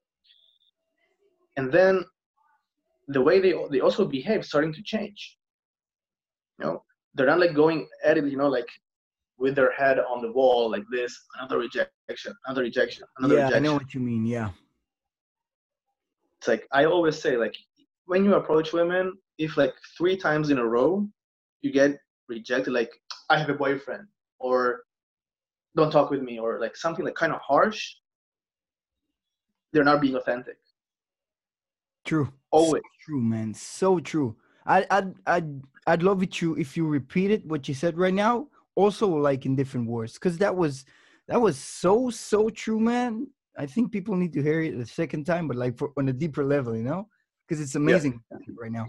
and then the way they they also behave starting to change. You know, they're not like going at it, you know, like with their head on the wall like this, another rejection, another rejection, another Yeah, I know rejection. what you mean. Yeah. It's like I always say, like when you approach women, if like three times in a row you get rejected, like I have a boyfriend, or don't talk with me, or like something like kind of harsh, they're not being authentic. True. Always. So true, man. So true. I I'd I'd I'd love it you if you repeated what you said right now, also like in different words. Because that was that was so so true, man. I think people need to hear it a second time, but like for, on a deeper level, you know? Because it's amazing Yeah. right now.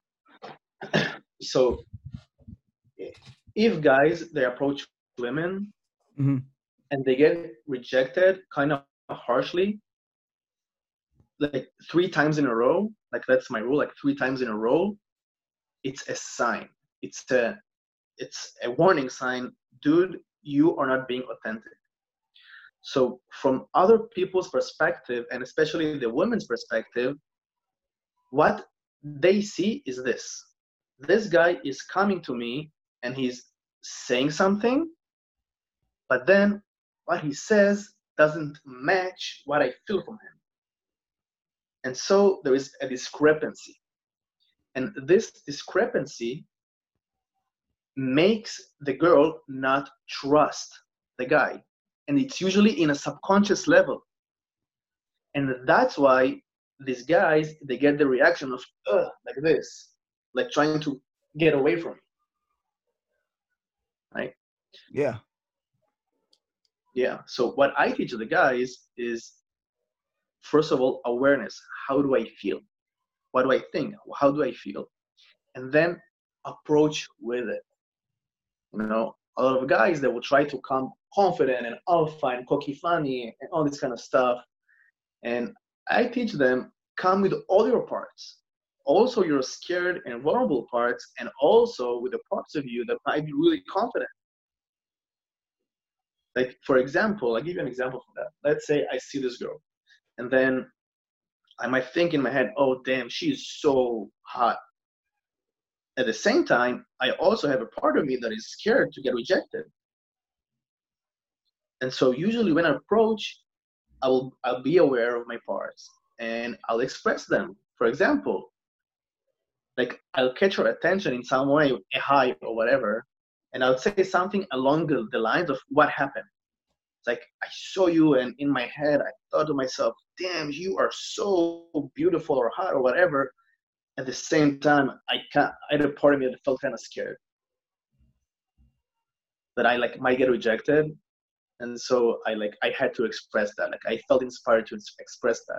So if guys they approach women mm-hmm. and they get rejected kind of harshly, like three times in a row, like that's my rule, like three times in a row, it's a sign. It's a it's a warning sign, dude, you are not being authentic. So from other people's perspective, and especially the women's perspective, what they see is this. This guy is coming to me and he's saying something, but then what he says doesn't match what I feel from him. And so there is a discrepancy. And this discrepancy makes the girl not trust the guy. And it's usually in a subconscious level. And that's why these guys, they get the reaction of, ugh, like this, like trying to get away from me. Right? Yeah. Yeah. So what I teach the guys is, first of all, awareness. How do I feel? What do I think? How do I feel? And then approach with it. You know, a lot of guys that will try to come confident and alpha and cocky funny and all this kind of stuff. And I teach them, come with all your parts. Also your scared and vulnerable parts, and also with the parts of you that might be really confident. Like, for example, I'll give you an example for that. Let's say I see this girl, and then I might think in my head, oh, damn, she's so hot. At the same time, I also have a part of me that is scared to get rejected. And so usually when I approach, I will, I'll be aware of my parts and I'll express them. For example, like I'll catch her attention in some way, a hi or whatever, and I'll say something along the, the lines of what happened. It's like, I saw you and in my head, I thought to myself, damn, you are so beautiful or hot or whatever. At the same time, I can't, I had a part of me that felt kind of scared that I like might get rejected. And so I like, I had to express that. Like I felt inspired to express that.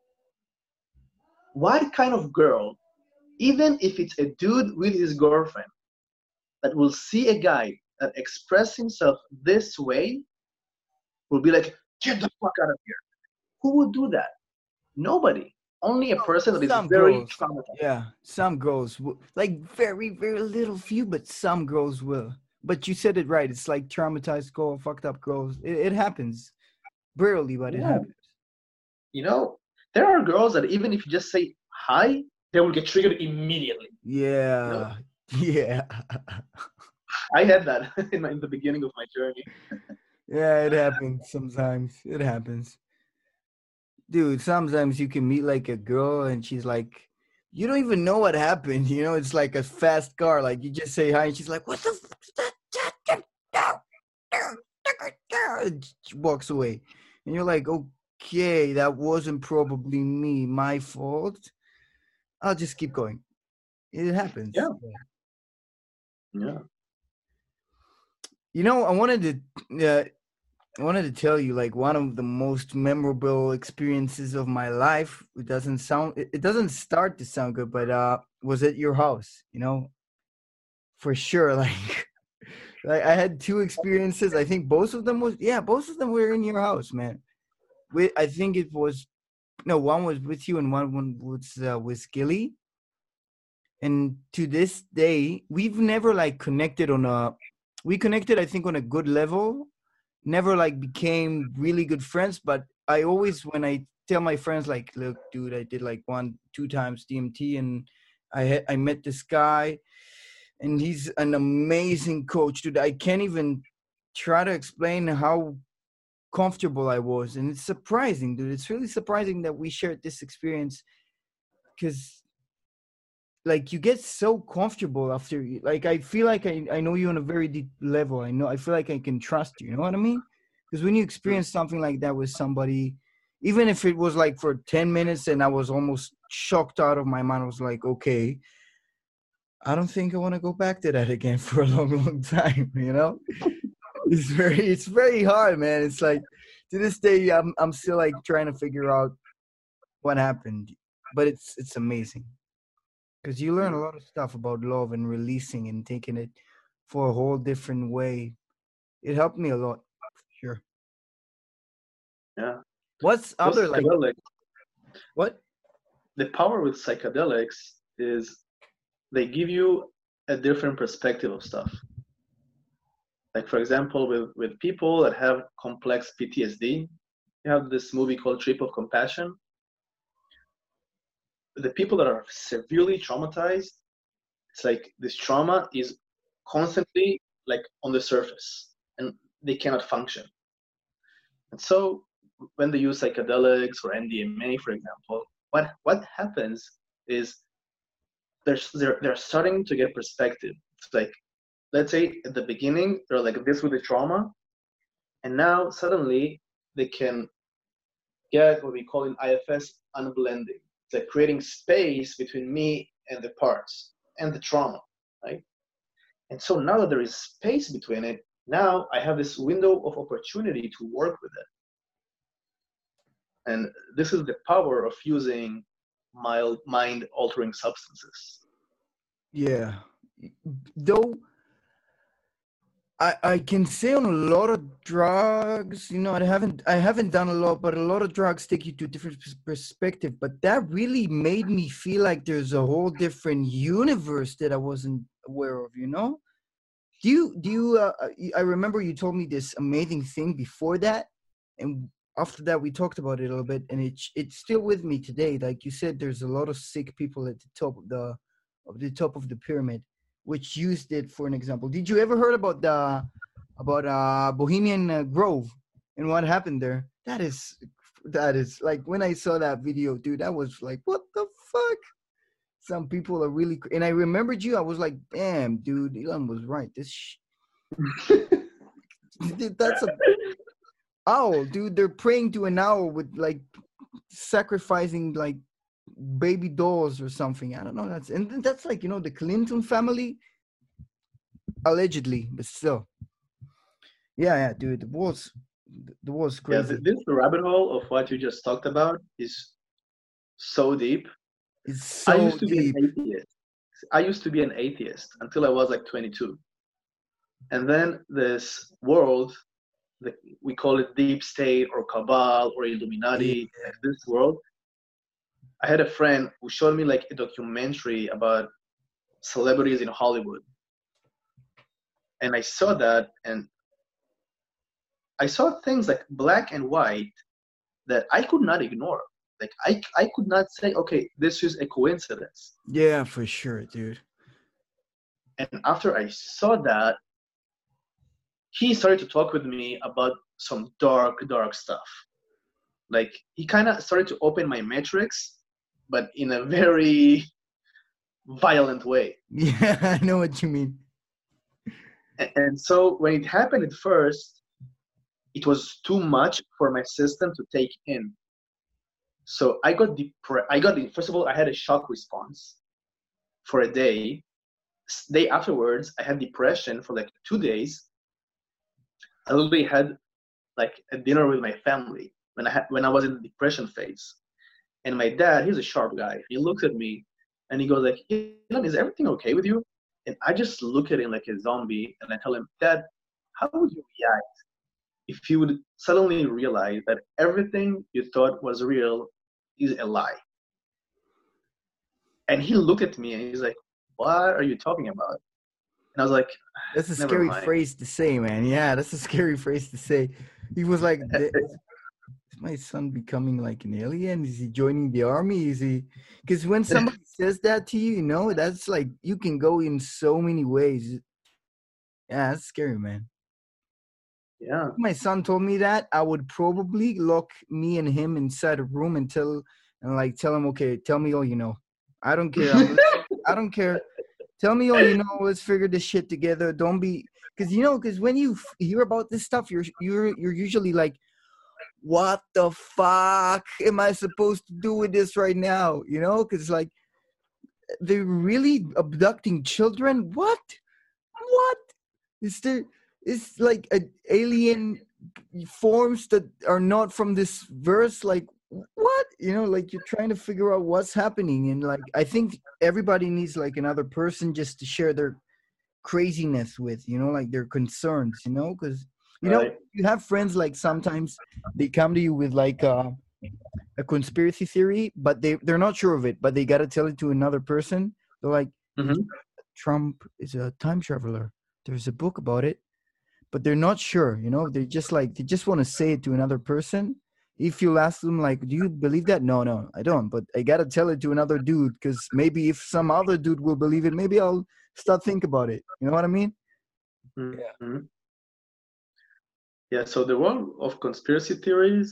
What kind of girl, even if it's a dude with his girlfriend, that will see a guy that express himself this way, will be like, get the fuck out of here. Who would do that? Nobody. Only a person that is some very girls, traumatized. Yeah, some girls will, like very, very little few, but some girls will. But you said it right. It's like traumatized girl, fucked up girls. It, it happens. Barely, but it Yeah. happens. You know, there are girls that even if you just say hi, they will get triggered immediately. Yeah. No? Yeah. I had that in, my, in the beginning of my journey. Yeah, it happens sometimes. It happens. Dude, sometimes you can meet like a girl and she's like, you don't even know what happened. You know, it's like a fast car. Like you just say hi and she's like, what the fuck is that? And she walks away. And you're like, okay, that wasn't probably me, my fault. I'll just keep going. It happens. Yeah. Yeah. You know, I wanted to... Uh, I wanted to tell you, like, one of the most memorable experiences of my life. It doesn't sound, it doesn't start to sound good, but uh, was at your house, you know, for sure. Like, like I had two experiences. I think both of them was, yeah, both of them were in your house, man. With, I think it was, no, one was with you and one, one was uh, with Gilly. And to this day, we've never like connected on a, we connected, I think, on a good level. Never like became really good friends, but I always, when I tell my friends like, look, dude, I did like one, two times D M T and I had, I met this guy and he's an amazing coach, dude. I can't even try to explain how comfortable I was. And it's surprising, dude. It's really surprising that we shared this experience because like you get so comfortable after, like, I feel like I, I know you on a very deep level. I know, I feel like I can trust you. You know what I mean? Because when you experience something like that with somebody, even if it was like for ten minutes and I was almost shocked out of my mind. I was like, okay, I don't think I want to go back to that again for a long, long time, you know? It's very, it's very hard, man. It's like, to this day, I'm, I'm still like trying to figure out what happened, but it's, it's amazing because you learn a lot of stuff about love and releasing and taking it for a whole different way. It helped me a lot, for sure. Yeah. What's Those other like, psychedelics, what? the power with psychedelics is they give you a different perspective of stuff. Like, for example, with, with people that have complex P T S D, you have this movie called Trip of Compassion. The people that are severely traumatized, it's like this trauma is constantly like on the surface and they cannot function. And so when they use psychedelics or M D M A, for example, what, what happens is they're, they're, they're starting to get perspective. It's like, let's say at the beginning, they're like this with the trauma, and now suddenly they can get what we call in I F S unblending. It's like creating space between me and the parts and the trauma, right? And so now that there is space between it, now I have this window of opportunity to work with it. And this is the power of using mild mind-altering substances. Yeah. Though I, I can say on a lot of drugs, you know, I haven't I haven't done a lot, but a lot of drugs take you to a different perspective. But that really made me feel like there's a whole different universe that I wasn't aware of, you know? Do you, do you, uh, I remember you told me this amazing thing before that. And after that, we talked about it a little bit. And it, it's still with me today. Like you said, there's a lot of sick people at the top of the, of the top of the pyramid, which used it for an example. Did you ever heard about the about uh, Bohemian uh, Grove and what happened there? That is that is like when I saw that video, dude. I was like, what the fuck? Some people are really, and I remembered you. I was like, damn, dude, Elon was right. This, sh- that's a owl, dude. They're praying to an owl with like sacrificing like baby dolls or something. I don't know. That's and that's like, you know, the Clinton family, allegedly, but still. Yeah, yeah, dude. The world's the world's crazy. Yeah, this rabbit hole of what you just talked about is so deep. It's so I used to deep. be an atheist. I used to be an atheist until I was like twenty-two. And then this world, the, we call it deep state or cabal or Illuminati, Yeah. like this world. I had a friend who showed me like a documentary about celebrities in Hollywood. And I saw that, and I saw things like black and white that I could not ignore. Like I, I could not say, okay, this is a coincidence. Yeah, for sure, dude. And after I saw that, he started to talk with me about some dark, dark stuff. Like he kind of started to open my metrics, but in a very violent way. Yeah, I know what you mean. And, and so when it happened at first, it was too much for my system to take in. So I got depressed. I got, first of all, I had a shock response for a day. Day afterwards, I had depression for like two days. I literally had like a dinner with my family when I had, when I was in the depression phase. And my dad, he's a sharp guy. He looks at me and he goes like, Elon, is everything okay with you? And I just look at him like a zombie and I tell him, Dad, how would you react if you would suddenly realize that everything you thought was real is a lie? And he looked at me and he's like, what are you talking about? And I was like, that's a never scary mind. phrase to say, man. Yeah, that's a scary phrase to say. He was like, is my son becoming like an alien? Is he joining the army? Is he? Because when somebody says that to you, you know, that's like, you can go in so many ways. Yeah, that's scary, man. Yeah. If my son told me that, I would probably lock me and him inside a room and tell, and like tell him, okay, tell me all you know. I don't care. I'm I don't care. Tell me all you know. Let's figure this shit together. Don't be, because you know, because when you f- hear about this stuff, you're you're you're usually like, what the fuck am I supposed to do with this right now? You know, because like they're really abducting children. What? What? Is there? Is like an alien forms that are not from this verse? Like what? You know, like you're trying to figure out what's happening, and like I think everybody needs like another person just to share their craziness with. You know, like their concerns. You know, because you know Right. you have friends like sometimes they come to you with like uh, a conspiracy theory, but they they're not sure of it, but they got to tell it to another person. They're like, "Did you Mm-hmm. know that Trump is a time traveler? There's a book about it," but they're not sure. You know, they just like they just want to say it to another person. If you ask them like, "Do you believe that?" No, no, I don't. But I got to tell it to another dude because maybe if some other dude will believe it, maybe I'll start think about it. You know what I mean? Yeah. Mm-hmm. Yeah. So the world of conspiracy theories,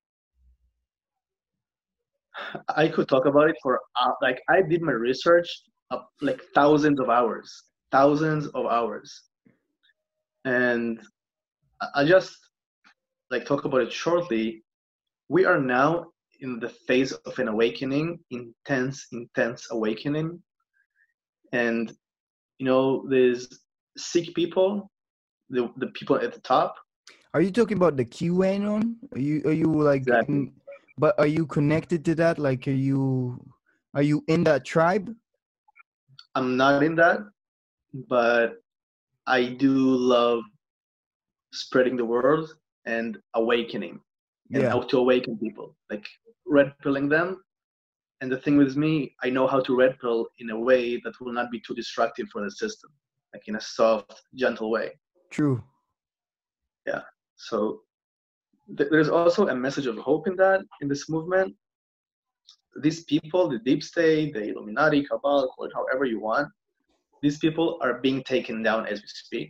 I could talk about it for uh, like I did my research uh, like thousands of hours, thousands of hours, and I I just like talk about it shortly. We are now in the phase of an awakening, intense, intense awakening, and you know there's sick people, the the people at the top. Are you talking about the QAnon? Are you are you like Exactly. in, but are you connected to that? Like are you are you in that tribe? I'm not in that, but I do love spreading the word and awakening and Yeah, how to awaken people, like red pilling them. And the thing with me, I know how to red pill in a way that will not be too destructive for the system, like in a soft, gentle way. true. Yeah. So th- there's also a message of hope in that, in this movement. These people, the deep state, the Illuminati, Cabal, call it however you want, these people are being taken down as we speak.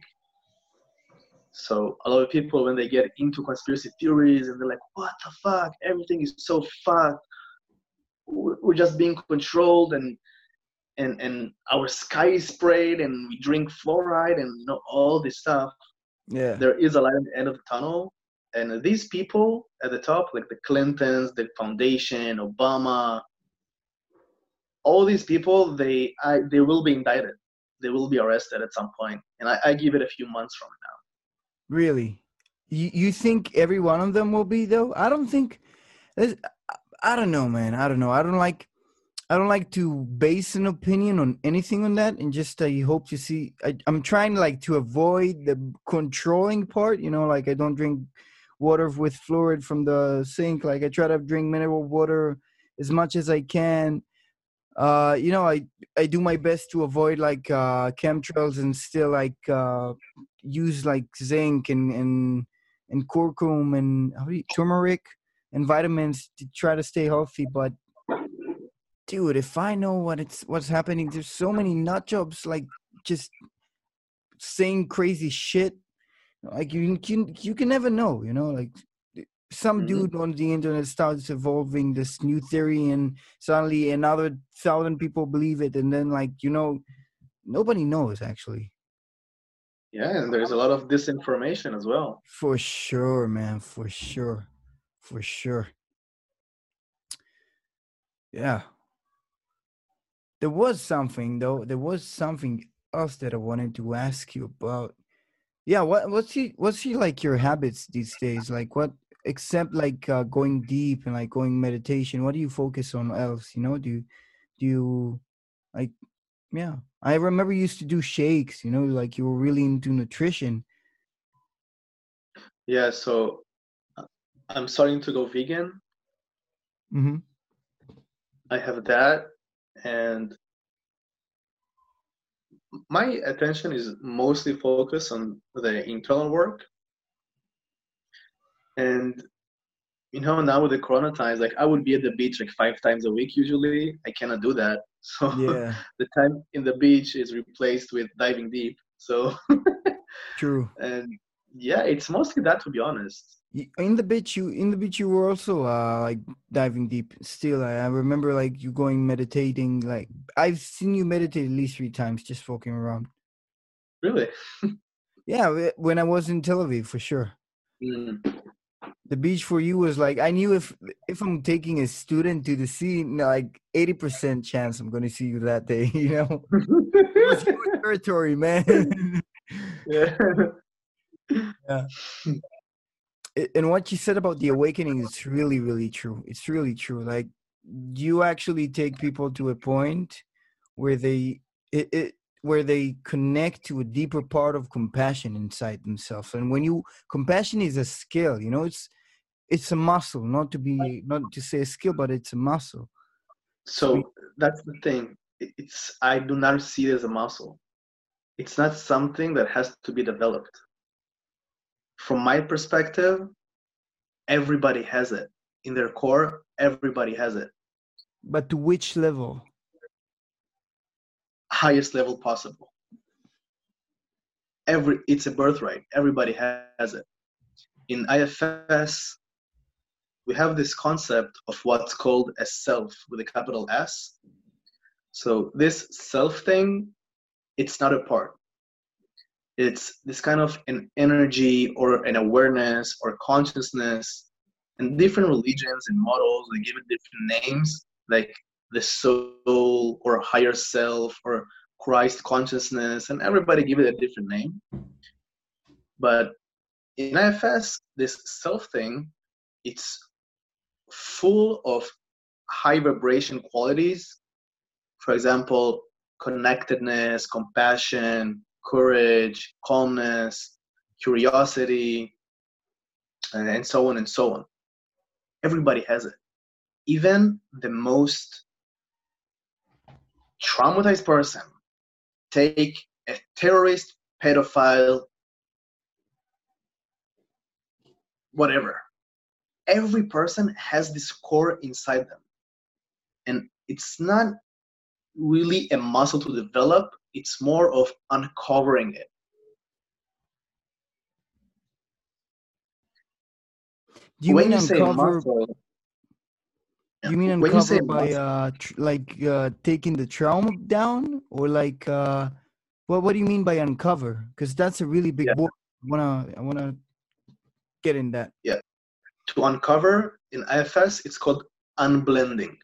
So a lot of people, when they get into conspiracy theories and they're like, what the fuck? Everything is so fucked. We're just being controlled and and and our sky is sprayed and we drink fluoride and you know all this stuff. Yeah. There is a light at the end of the tunnel. And these people at the top, like the Clintons, the foundation, Obama, all these people, they I, they will be indicted. They will be arrested at some point. And I, I give it a few months from now. Really? You you think every one of them will be though? I don't think. there's- I don't know, man. I don't know. I don't like. I don't like to base an opinion on anything on that, and just I hope to see. I, I'm trying like to avoid the controlling part. You know, like I don't drink water with fluoride from the sink. Like I try to drink mineral water as much as I can. Uh, you know, I I do my best to avoid like uh, chemtrails and still like uh, use like zinc and and and curcum and how do you, turmeric and vitamins to try to stay healthy. But dude, if I know what it's what's happening, there's so many nut jobs like just saying crazy shit. Like you can you can never know, you know, like some Mm-hmm. dude on the internet starts evolving this new theory and suddenly another thousand people believe it and then like you know nobody knows actually. Yeah, and there's a lot of disinformation as well. For sure, man, for sure, for sure. Yeah, there was something though, there was something else that I wanted to ask you about. Yeah, what what's he what's he like your habits these days? Like what except like uh, going deep and like going meditation, what do you focus on else? You know, do you do you like yeah. I remember you used to do shakes, you know, like you were really into nutrition. Yeah, so uh, I'm starting to go vegan. Mm-hmm. I have that, and my attention is mostly focused on the internal work. And you know, now with the corona times, like I would be at the beach like five times a week usually. I cannot do that. So Yeah, the time in the beach is replaced with diving deep. So true. and yeah, it's mostly that to be honest. Y- In the beach, you in the beach, you were also uh like diving deep. Still, I, I remember like you going meditating. Like I've seen you meditate at least three times, just walking around. Really. Yeah, wh- when I was in Tel Aviv, for sure. Mm. The beach for you was like, I knew if if I'm taking a student to the sea, like eighty percent chance I'm going to see you that day. You know, it was your territory, man. Yeah. Yeah. And what you said about the awakening is really, really true. It's really true. Like, you actually take people to a point where they it, it where they connect to a deeper part of compassion inside themselves. And when you compassion is a skill, you know, it's it's a muscle, not to be not to say a skill, but it's a muscle. So So that's the thing. It's I do not see it as a muscle. It's not something that has to be developed. From my perspective, everybody has it. In their core, everybody has it. but to which level? Highest level possible. Every it's a birthright. Everybody has it. In I F S, we have this concept of what's called a self with a capital S. So this self thing, it's not a part. It's this kind of an energy or an awareness or consciousness. And different religions and models, they give it different names, like the soul or higher self or Christ consciousness, and everybody give it a different name. But in I F S, this self thing, it's full of high vibration qualities. For example, connectedness, compassion, courage, calmness, curiosity, and so on and so on. Everybody has it. Even the most traumatized person, take a terrorist, pedophile, whatever. Every person has this core inside them. And it's not really a muscle to develop, it's more of uncovering it. Do you when mean you say uncover? muscle, You mean when you say uncover by muscle, uh tr- like uh taking the trauma down, or like uh what what do you mean by uncover? Because that's a really yeah, big word. I wanna I wanna get in that. yeah. To uncover in I F S, it's called unblending.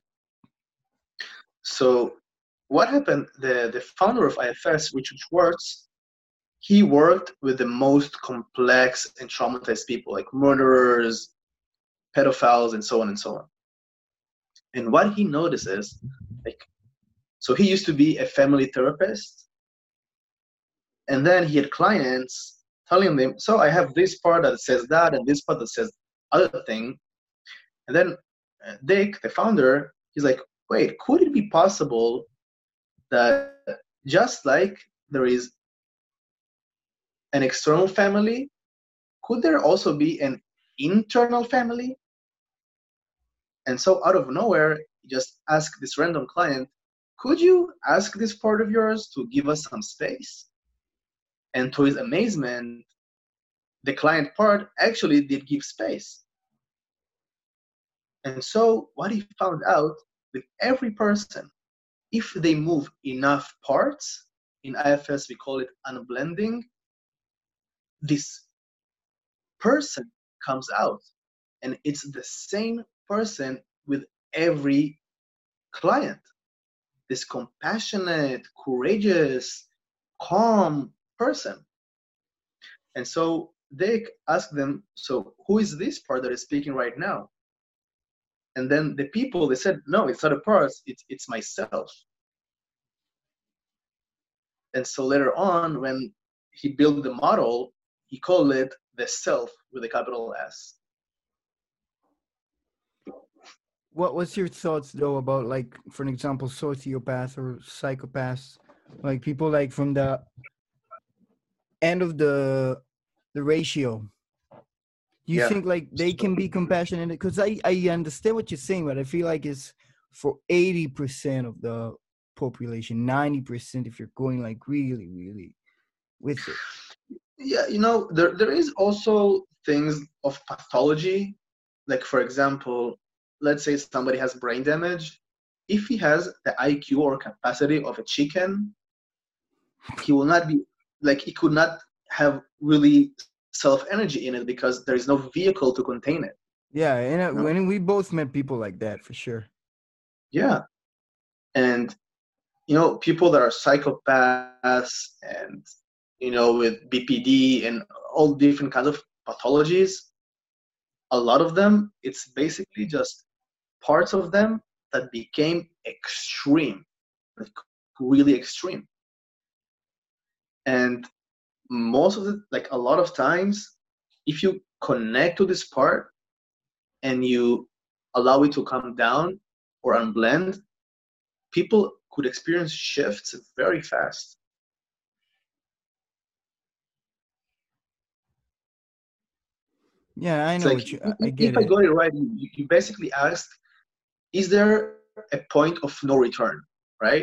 So what happened? The the founder of I F S, Richard Schwartz, he worked with the most complex and traumatized people, like murderers, pedophiles, and so on and so on. And what he notices, like, so he used to be a family therapist, and then he had clients telling them, so I have this part that says that, and this part that says other thing. And then uh, Dick, the founder, he's like, wait, could it be possible that just like there is an external family, could there also be an internal family? And so out of nowhere, he just asked this random client, could you ask this part of yours to give us some space? And to his amazement, the client part actually did give space. And so what he found out, with every person, if they move enough parts, in I F S we call it unblending, this person comes out. And it's the same person with every client. This compassionate, courageous, calm person. And so they asked them, so who is this part that is speaking right now? And then the people, they said, no, it's not a part, it's, it's myself. And so later on, when he built the model, he called it the self with a capital S. What what's your thoughts though about, like, for an example, sociopath or psychopaths, like people like from the end of the the ratio? Do you Yeah. think like they can be compassionate? Because I I understand what you're saying, but I feel like it's for eighty percent of the population, ninety percent if you're going like really really with it. Yeah, you know, there there is also things of pathology. Like, for example, let's say somebody has brain damage. If he has the I Q or capacity of a chicken, he will not be, like, he could not have really self energy in it because there is no vehicle to contain it. Yeah, and uh, You know? when we both met people like that for sure. Yeah. And you know, people that are psychopaths and you know, with B P D and all different kinds of pathologies, a lot of them, it's basically just parts of them that became extreme, like really extreme. And most of the, like a lot of times, if you connect to this part and you allow it to come down or unblend, people could experience shifts very fast. Yeah, I It's know like, what you. I, I if get I it. got it right, you, you basically asked, is there a point of no return, right?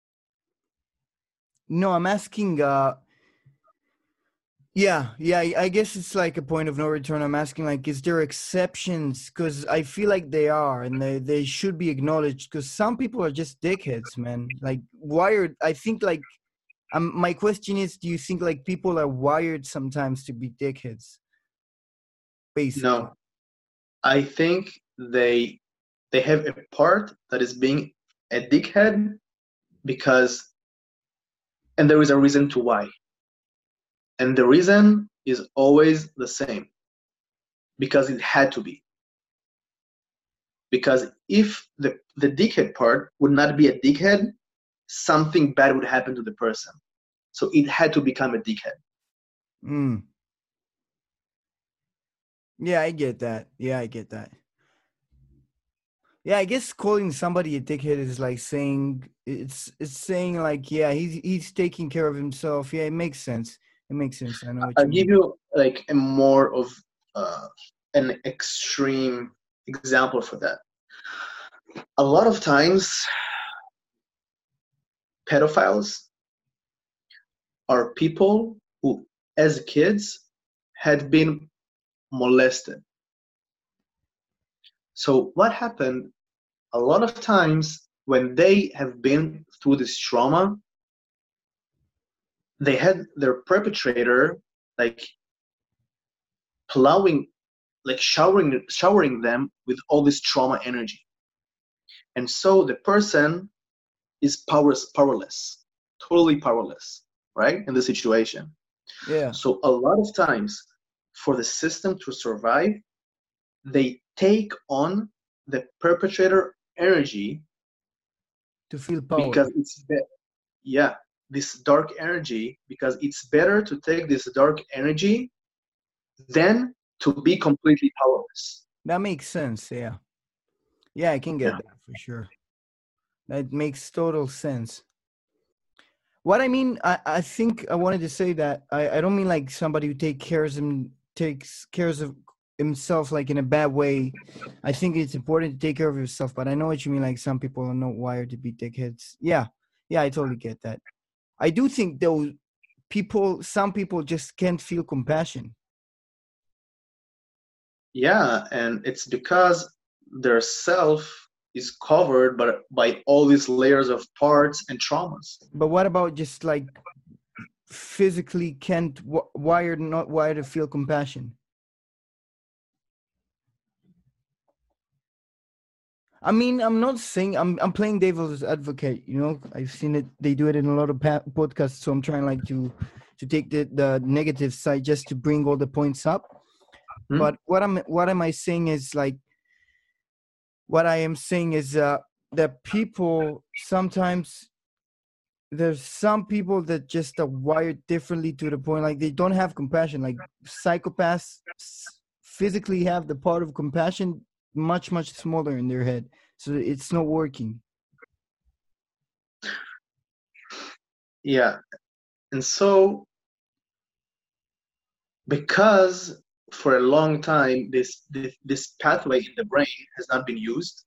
No, I'm asking. uh Yeah, yeah. I I guess it's like a point of no return. I'm asking, like, is there exceptions? Because I feel like they are, and they they should be acknowledged. Because some people are just dickheads, man. Like wired. I think like. Um, my question is, do you think like people are wired sometimes to be dickheads? Basically. No, I think they they have a part that is being a dickhead because, and there is a reason to why. And the reason is always the same, because it had to be. Because if the, the dickhead part would not be a dickhead, something bad would happen to the person. So it had to become a dickhead. Mm. Yeah, I get that. Yeah, I get that. Yeah, I guess calling somebody a dickhead is like saying it's it's saying like, yeah, he's he's taking care of himself. Yeah, it makes sense. It makes sense. I know what I'll you give mean. you like a more of uh, an extreme example for that. A lot of times, pedophiles are people who, as kids, had been molested. So what happened a lot of times when they have been through this trauma, they had their perpetrator like plowing, like showering, showering them with all this trauma energy. And so the person is powerless, powerless, totally powerless, right? In the situation. Yeah. So a lot of times for the system to survive, they take on the perpetrator energy To feel power. because it's be- yeah, this dark energy, because it's better to take this dark energy than to be completely powerless. That makes sense. Yeah. Yeah, I can get Yeah. that for sure. That makes total sense. What I mean, I, I think I wanted to say that I, I don't mean like somebody who take cares him takes cares of himself like in a bad way. I think it's important to take care of yourself, but I know what you mean. Like some people are not wired to be dickheads. Yeah, yeah, I totally get that. I do think though, people, some people just can't feel compassion. Yeah, and it's because their self is covered by, by all these layers of parts and traumas. But what about just like physically can't w- wired, not wired to feel compassion? I mean, I'm not saying I'm I'm playing devil's advocate. You know, I've seen it. They do it in a lot of pa- podcasts. So I'm trying like to to take the the negative side just to bring all the points up. Hmm? But what I'm what am I saying is like what I am saying is uh, that people sometimes there's some people that just are wired differently to the point like they don't have compassion. Like psychopaths physically have the part of compassion much much smaller in their head, so it's not working. Yeah, and so because for a long time this, this this pathway in the brain has not been used,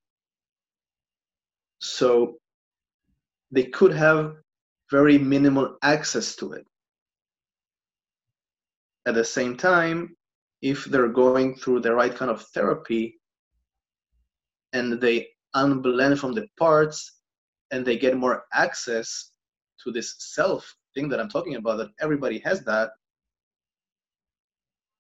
so they could have very minimal access to it. At the same time, if they're going through the right kind of therapy and they unblend from the parts and they get more access to this self thing that I'm talking about, that everybody has that,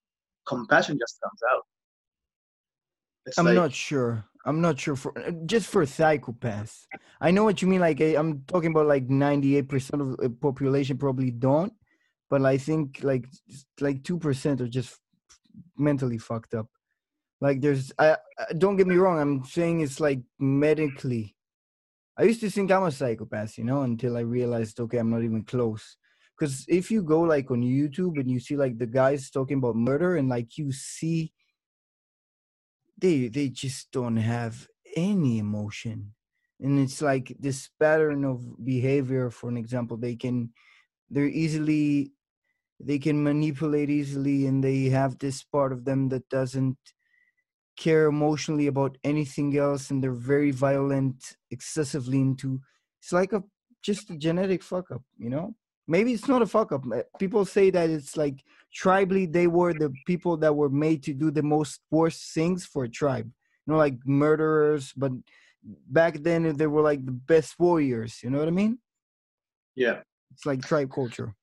compassion just comes out. It's I'm like, not sure. I'm not sure for uh, just for psychopaths. I know what you mean. Like I, I'm talking about like ninety-eight percent of the population probably don't, but I think like like two percent are just mentally fucked up. Like there's, I, I don't get me wrong. I'm saying it's like medically. I used to think I'm a psychopath, you know, until I realized, okay, I'm not even close. Because if you go like on YouTube and you see like the guys talking about murder and like you see they they just don't have any emotion, and it's like this pattern of behavior. For an example, they can they're easily they can manipulate easily, and they have this part of them that doesn't care emotionally about anything else, and they're very violent, excessively into. It's like a just a genetic fuck up, you know. Maybe it's not a fuck up. Uh, people say that it's like tribally they were the people that were made to do the most worst things for a tribe, you know, like murderers. But back then they were like the best warriors, you know what I mean? yeah. It's like tribe culture.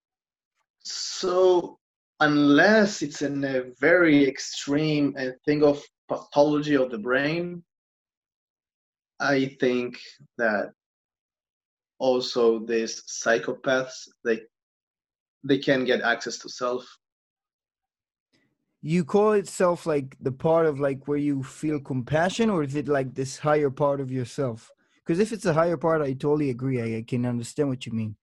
So unless it's in a very extreme and thing of pathology of the brain, I think that also these psychopaths, they they can get access to self. You call itself like the part of like where you feel compassion, or is it like this higher part of yourself? Because if it's a higher part, I totally agree. I, I can understand what you mean.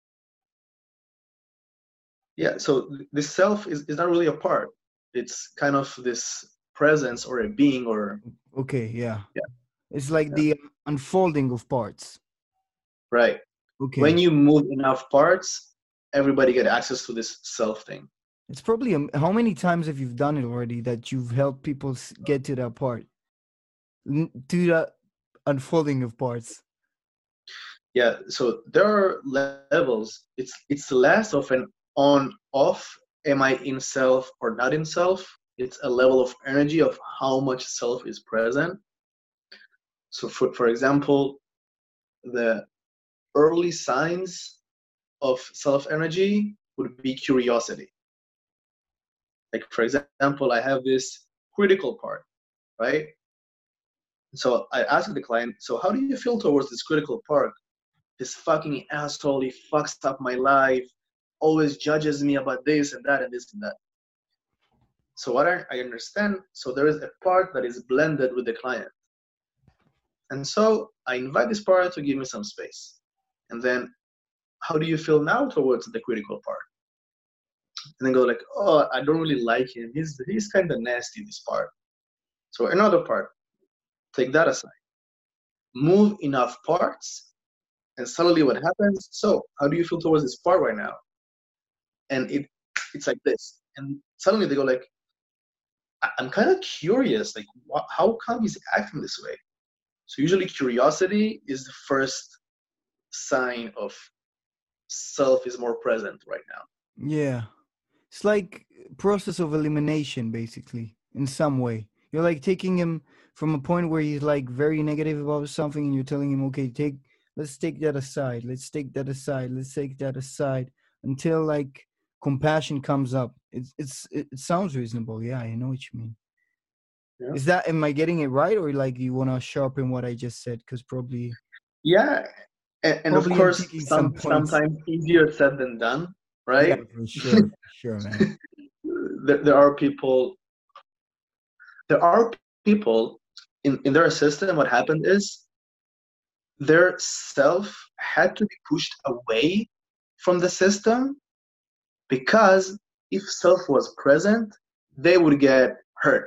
Yeah, so this self is, is not really a part. It's kind of this presence or a being or Okay, yeah. yeah, It's like yeah. the unfolding of parts. Right. Okay. When you move enough parts, everybody get access to this self thing. It's probably um, how many times have you done it already that you've helped people s- get to that part, N- to the unfolding of parts? Yeah, so there are levels. It's it's less of an on off. Am I in self or not in self? It's a level of energy of how much self is present. So for for example, the early signs of self energy would be curiosity. Like for example, I have this critical part, right? So I asked the client, so how do you feel towards this critical part? This fucking asshole, he fucks up my life, always judges me about this and that and this and that. So what I, I understand, so there is a part that is blended with the client. And so I invite this part to give me some space. And then, how do you feel now towards the critical part? And then go like, oh, I don't really like him. He's he's kind of nasty, this part. So another part, take that aside. Move enough parts, and suddenly what happens? So how do you feel towards this part right now? And it it's like this. And suddenly they go like, I'm kind of curious, like, wh- how come he's acting this way? So usually curiosity is the first sign of self is more present right now. Yeah, it's like process of elimination, basically, in some way. You're like taking him from a point where he's like very negative about something, and you're telling him, okay, take, let's take that aside, let's take that aside, let's take that aside, until like compassion comes up. It's it's it, it sounds reasonable. Yeah, I know what you mean. Yeah, Is that, am I getting it right, or like you want to sharpen what I just said? Because probably yeah, and, and of probably I'm course, taking some some points. sometimes easier said than done, Yeah, right? for sure, for sure, man. there, there are people. There are people in in their system. What happened is their self had to be pushed away from the system because if self was present, they would get hurt.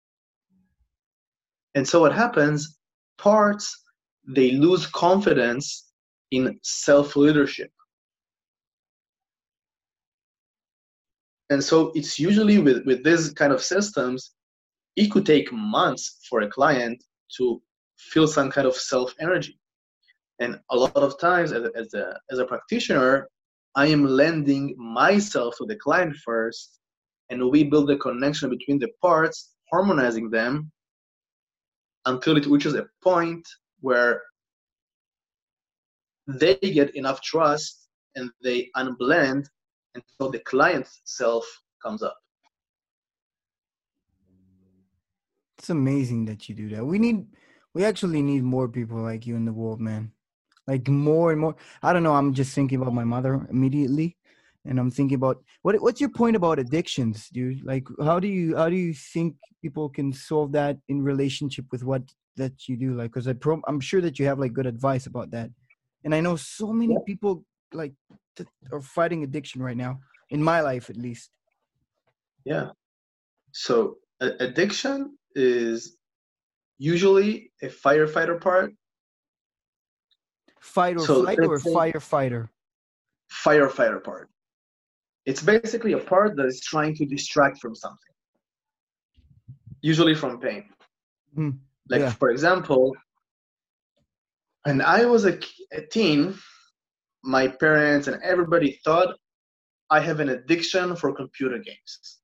And so what happens, parts, they lose confidence in self-leadership. And so it's usually with, with this kind of systems, it could take months for a client to feel some kind of self-energy. And a lot of times as a, as a, as a practitioner, I am lending myself to the client first, and we build a connection between the parts, harmonizing them until it reaches a point where they get enough trust and they unblend until the client's self comes up. It's amazing that you do that. We need, we actually need more people like you in the world, man. Like more and more. I don't know. I'm just thinking about my mother immediately, and I'm thinking about what. What's your point about addictions, dude? Like, how do you how do you think people can solve that in relationship with what that you do? Like, because I pro, I'm sure that you have like good advice about that, and I know so many Yeah. people like that are fighting addiction right now. In my life, at least, Yeah. So a- addiction is usually a firefighter part. fight or So flight or let's say firefighter. firefighter part. It's basically a part that is trying to distract from something, usually from pain. Mm, Like yeah. for example, when I was a, a teen, my parents and everybody thought I have an addiction for computer games.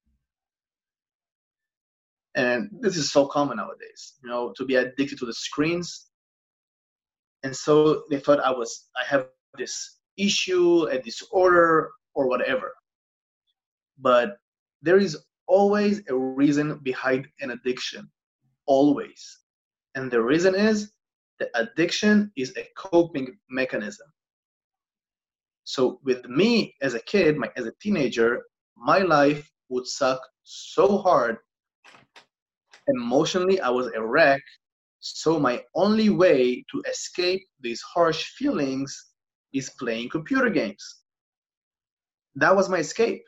And this is so common nowadays, you know, to be addicted to the screens. And so they thought I was, I have this issue, a disorder, or whatever. But there is always a reason behind an addiction, always. And the reason is the addiction is a coping mechanism. So with me as a kid, my, as a teenager, my life would suck so hard. Emotionally, I was a wreck. So my only way to escape these harsh feelings is playing computer games. That was my escape.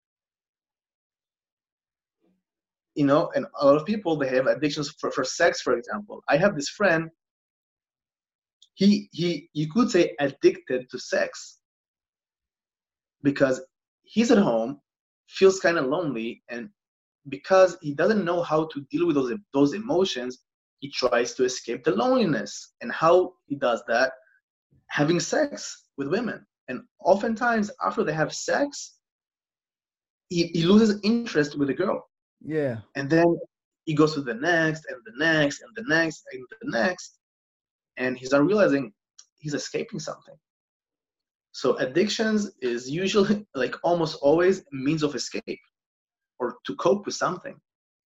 You know, and a lot of people, they have addictions for, for sex, for example. I have this friend, he he you could say addicted to sex because he's at home, feels kind of lonely, and because he doesn't know how to deal with those those emotions, he tries to escape the loneliness. And how he does that? Having sex with women. And oftentimes after they have sex, he, he loses interest with the girl. Yeah. And then he goes to the next and the next and the next and the next. And he's not realizing he's escaping something. So addictions is usually, like almost always, a means of escape or to cope with something.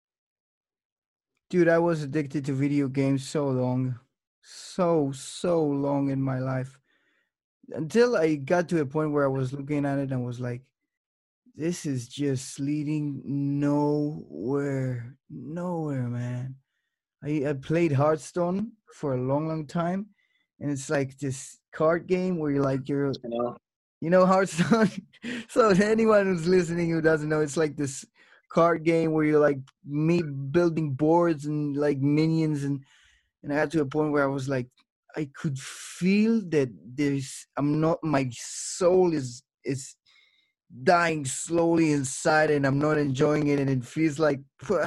Dude, I was addicted to video games so long. So, so long in my life. Until I got to a point where I was looking at it and was like, this is just leading nowhere. Nowhere, man. I, I played Hearthstone for a long, long time. And it's like this card game where you're like, you're, You know? you know, Hearthstone. So anyone who's listening who doesn't know, it's like this card game where you're like me building boards and like minions, and and I got to a point where I was like, I could feel that there's, I'm not, my soul is is dying slowly inside, and I'm not enjoying it, and it feels like,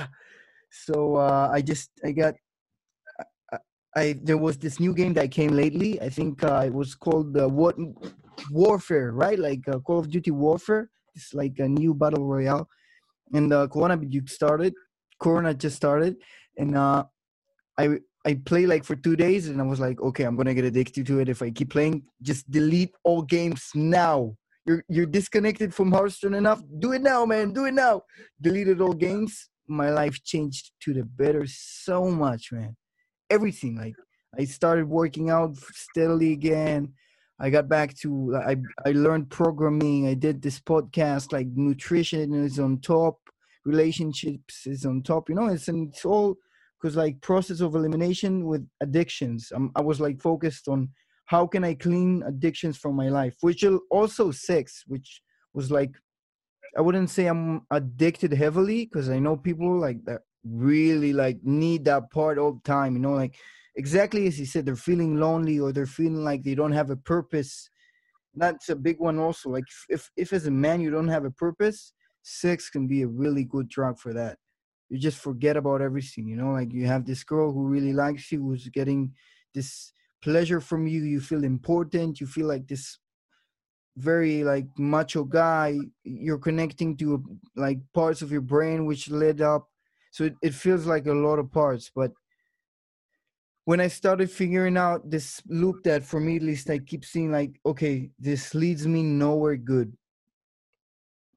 so uh, I just I got I, I there was this new game that came lately. I think uh, it was called uh, what Warfare, right? Like uh, Call of Duty Warfare. It's like a new battle royale, and uh, Corona you started. Corona just started, and uh, I I play like for two days, and I was like, okay, I'm gonna get addicted to it if I keep playing. Just delete all games now. You're you're disconnected from Hearthstone enough. Do it now, man. Do it now. Deleted all games. My life changed to the better so much, man. Everything. Like I started working out steadily again. I got back to I I learned programming. I did this podcast. Like nutrition is on top, relationships is on top. You know, it's and it's all because like process of elimination with addictions. Um, I was like focused on how can I clean addictions from my life, which will also sex, which was like I wouldn't say I'm addicted heavily because I know people like that really like need that part all the time. You know, like exactly as you said, they're feeling lonely or they're feeling like they don't have a purpose. That's a big one also. Like if if as a man you don't have a purpose, sex can be a really good drug for that. You just forget about everything. You know, like you have this girl who really likes you, who's getting this pleasure from you. You feel important. You feel like this very like macho guy. You're connecting to like parts of your brain which lit up, so it, it feels like a lot of parts. But when I started figuring out this loop that for me at least I keep seeing like, okay, this leads me nowhere good.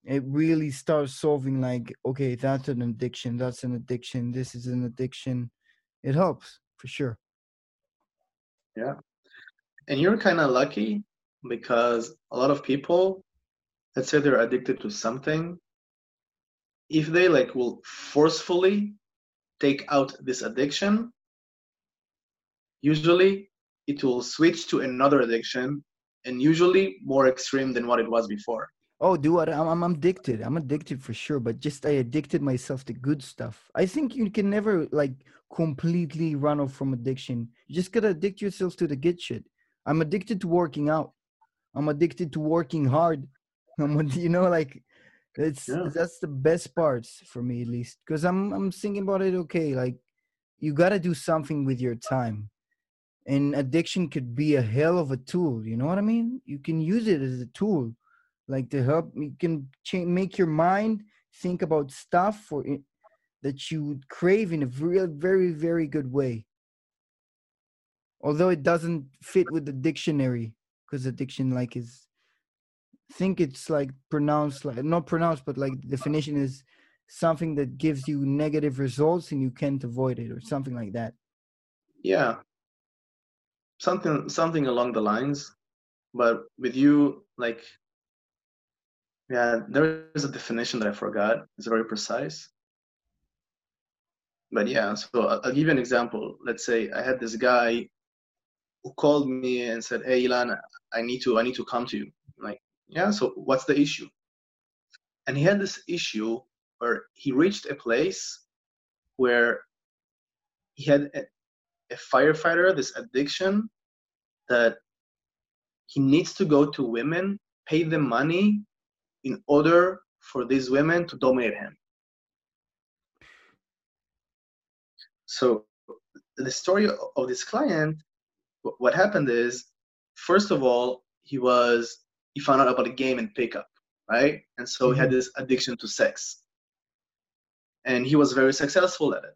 it really starts solving like, okay, that's an addiction, that's an addiction, this is an addiction. It helps for sure. Yeah. And you're kind of lucky because a lot of people, let's say they're addicted to something, if they like will forcefully take out this addiction, usually it will switch to another addiction, and usually more extreme than what it was before. Oh, dude, I'm, I'm I'm addicted. I'm addicted for sure, but just I addicted myself to good stuff. I think you can never like completely run off from addiction. You just gotta addict yourself to the good shit. I'm addicted to working out. I'm addicted to working hard. I'm, ad- you know, like it's Yeah. that's the best parts for me at least, because I'm I'm thinking about it. Okay, like you gotta do something with your time, and addiction could be a hell of a tool. You know what I mean? You can use it as a tool like to help you can change, make your mind think about stuff for it, that you would crave in a real very very good way, although it doesn't fit with the dictionary, because addiction like is think it's like pronounced like not pronounced but like the definition is something that gives you negative results and you can't avoid it or something like that. Yeah. Something something along the lines. But with you, like, yeah, there is a definition that I forgot. It's very precise. But yeah, so I'll, I'll give you an example. Let's say I had this guy who called me and said, "Hey, Ilan, I need to, I need to come to you." I'm like, yeah. So what's the issue? And he had this issue where he reached a place where he had a, a firefighter, this addiction that he needs to go to women, pay them money in order for these women to dominate him. So the story of this client, what happened is, first of all, he was he found out about a game and pickup, right? And so he had Mm-hmm. this addiction to sex, and he was very successful at it.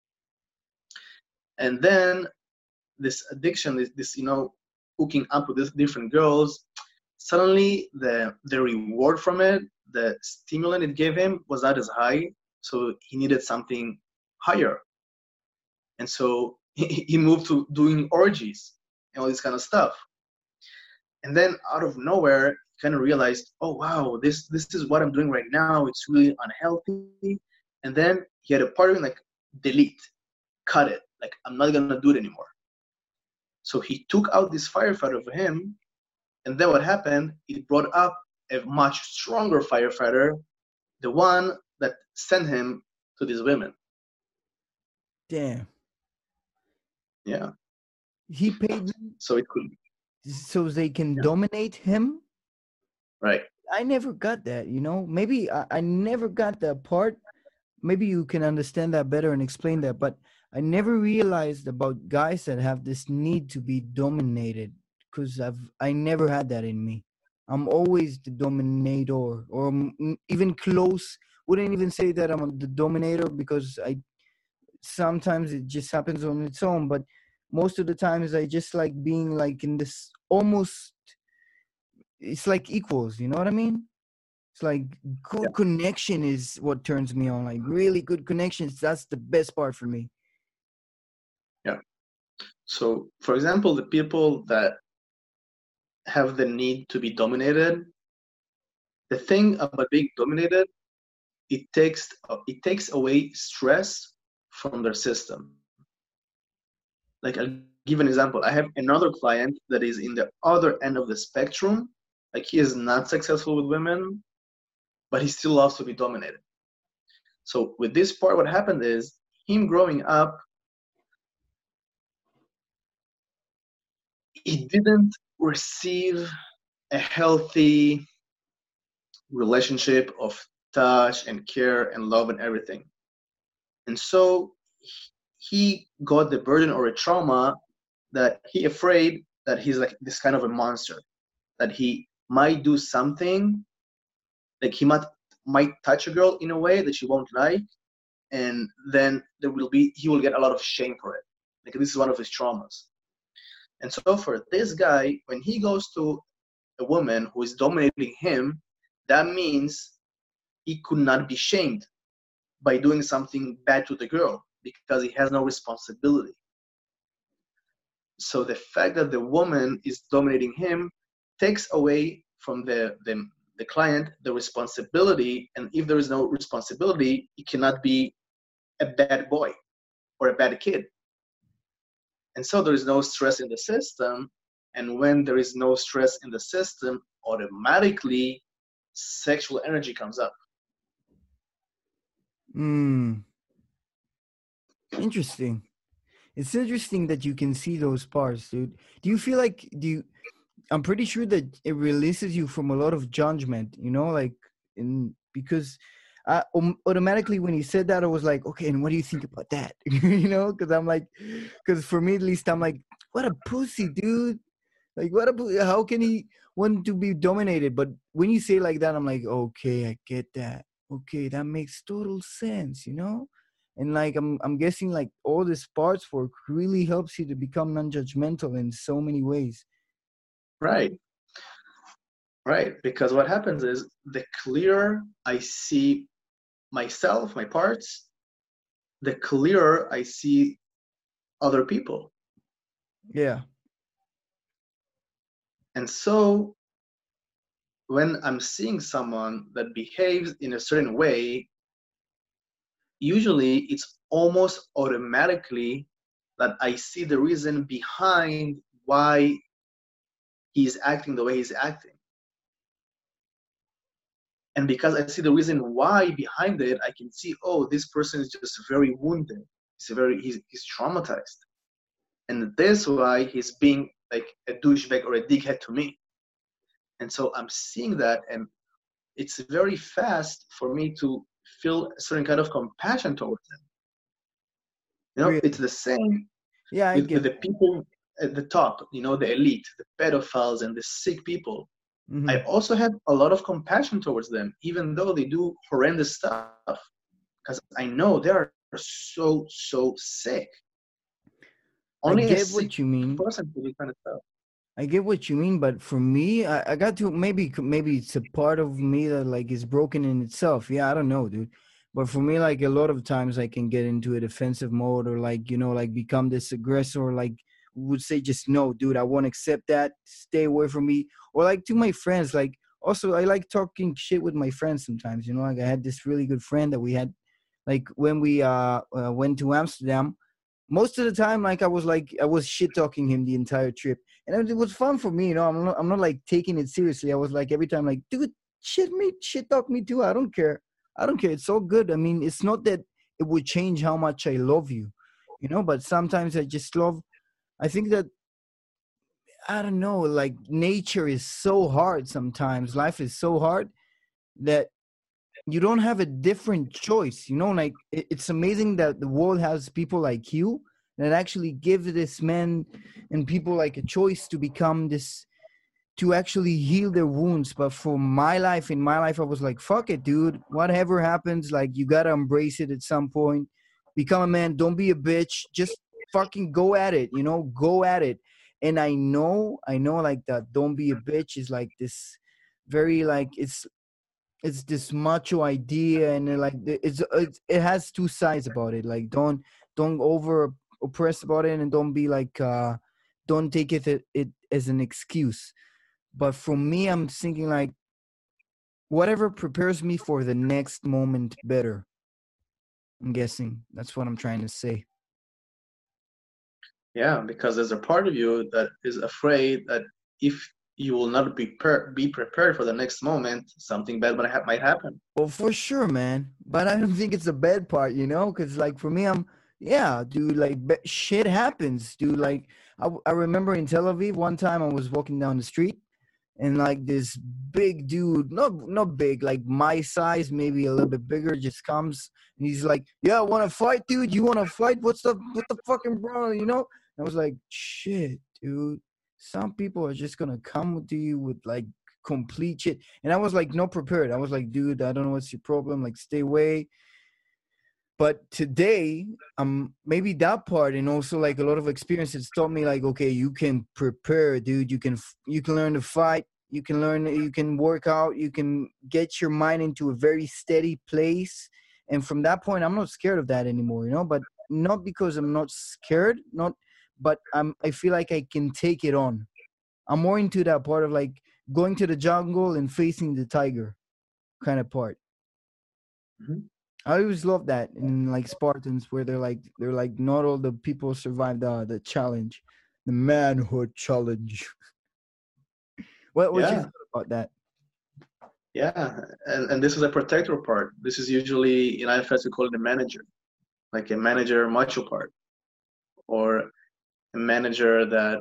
And then this addiction, this, this you know, hooking up with these different girls, suddenly the the reward from it, the stimulant it gave him was not as high, so he needed something higher. And so he, he moved to doing orgies and all this kind of stuff. And then out of nowhere, he kind of realized, oh wow, this this is what I'm doing right now. It's really unhealthy. And then he had a part of him like, delete, cut it. Like, I'm not gonna do it anymore. So he took out this firefighter for him, and then what happened? It brought up a much stronger firefighter, the one that sent him to these women. Damn. Yeah. He paid them So it could, so they can yeah, dominate him. right. I never got that, you know. Maybe I, I never got that part. Maybe you can understand that better and explain that. But I never realized about guys that have this need to be dominated, because I've I never had that in me. I'm always the dominator, or m- m- even close. Wouldn't even say that I'm the dominator, because I sometimes it just happens on its own. But most of the times I just like being like in this almost. It's like equals. You know what I mean? It's like Yeah. good connection is what turns me on. Like really good connections. That's the best part for me. Yeah. So, for example, the people that have the need to be dominated, the thing about being dominated, it takes it takes away stress from their system. Like, I'll give an example. I have another client that is in the other end of the spectrum. Like, he is not successful with women, but he still loves to be dominated. So with this part, what happened is, him growing up, he didn't receive a healthy relationship of touch and care and love and everything. And so he got the burden or a trauma that he afraid that he's like this kind of a monster, that he might do something, like he might might touch a girl in a way that she won't like, and then there will be he will get a lot of shame for it. Like, this is one of his traumas. And so for this guy, when he goes to a woman who is dominating him, that means he could not be shamed by doing something bad to the girl because he has no responsibility. So the fact that the woman is dominating him takes away from the, the, the client the responsibility, and if there is no responsibility, he cannot be a bad boy or a bad kid. And so there is no stress in the system, and when there is no stress in the system, automatically sexual energy comes up. Hmm. Interesting. It's interesting that you can see those parts, dude. Do you feel like do you I'm pretty sure that it releases you from a lot of judgment, you know, like in because I, um, automatically when you said that, I was like, okay, and what do you think about that? You know, because I'm like, because for me at least, I'm like, what a pussy, dude. Like, what a how can he want to be dominated? But when you say like that, I'm like, okay, I get that. Okay, that makes total sense, you know. And like I'm, I'm guessing like all this parts work really helps you to become non-judgmental in so many ways. Right. Right. Because what happens is the clearer I see myself, my parts, the clearer I see other people. Yeah. And so when I'm seeing someone that behaves in a certain way, usually it's almost automatically that I see the reason behind why he's acting the way he's acting. And because I see the reason why behind it, I can see, oh, this person is just very wounded. He's very, he's, he's traumatized. And that's why he's being like a douchebag or a dickhead to me. And so I'm seeing that, and it's very fast for me to feel a certain kind of compassion towards them. You know, Really? it's the same Yeah, I with, get with the people at the top, you know, the elite, the pedophiles and the sick people. mm-hmm. I also have a lot of compassion towards them, even though they do horrendous stuff, because I know they are so, so sick. Only I a get sick what you mean. person can do this kind of stuff. I get what you mean, but for me, I, I got to maybe maybe it's a part of me that like is broken in itself. Yeah, I don't know, dude. But for me, like a lot of times, I can get into a defensive mode or like you know, like become this aggressor. Like would say, just no, dude, I won't accept that. Stay away from me. Or like to my friends, like also I like talking shit with my friends sometimes. You know, like I had this really good friend that we had, like when we uh, uh went to Amsterdam. Most of the time, like I was like I was shit talking him the entire trip, and it was fun for me. You know, I'm not I'm not like taking it seriously. I was like every time like, dude, shit me, shit talk me too. I don't care. I don't care. It's all good. I mean, it's not that it would change how much I love you, you know. But sometimes I just love. I think that I don't know. Like nature is so hard. Sometimes life is so hard that you don't have a different choice, you know. Like it, it's amazing that the world has people like you that actually give this men and people like a choice to become this, to actually heal their wounds. But for my life, in my life, I was like, fuck it, dude, whatever happens, like you gotta embrace it at some point, become a man, don't be a bitch, just fucking go at it, you know, go at it. And i know i know like that don't be a bitch is like this very like it's it's this macho idea, and like it's, it's it has two sides about it. Like don't don't over oppress about it, and don't be like uh don't take it it as an excuse. But for me, I'm thinking like whatever prepares me for the next moment better. I'm guessing that's what I'm trying to say. Yeah, because there's a part of you that is afraid that if you will not be per- be prepared for the next moment, something bad might, ha- might happen. Well, for sure, man. But I don't think it's the bad part, you know, because like for me, I'm yeah, dude. Like be- shit happens, dude. Like I, I remember in Tel Aviv one time I was walking down the street, and like this big dude, not not big, like my size, maybe a little bit bigger, just comes and he's like, "Yeah, want to fight, dude? You want to fight? What's the what the fucking bro?" You know? And I was like, "Shit, dude. Some people are just gonna come to you with like complete shit." And I was like, not prepared. I was like, "Dude, I don't know what's your problem. Like, stay away." But today, um, maybe that part and also like a lot of experiences taught me like, okay, you can prepare, dude. You can you can learn to fight. You can learn, you can work out, you can get your mind into a very steady place. And from that point, I'm not scared of that anymore, you know, but not because I'm not scared, not, but I'm, I feel like I can take it on. I'm more into that part of like going to the jungle and facing the tiger kind of part. Mm-hmm. I always love that in like Spartans where they're like they're like not all the people survive the the challenge, the manhood challenge. what what you Yeah, thought about that? yeah, and and this is a protector part. This is usually in I F S we call it a manager, like a manager macho part, or a manager that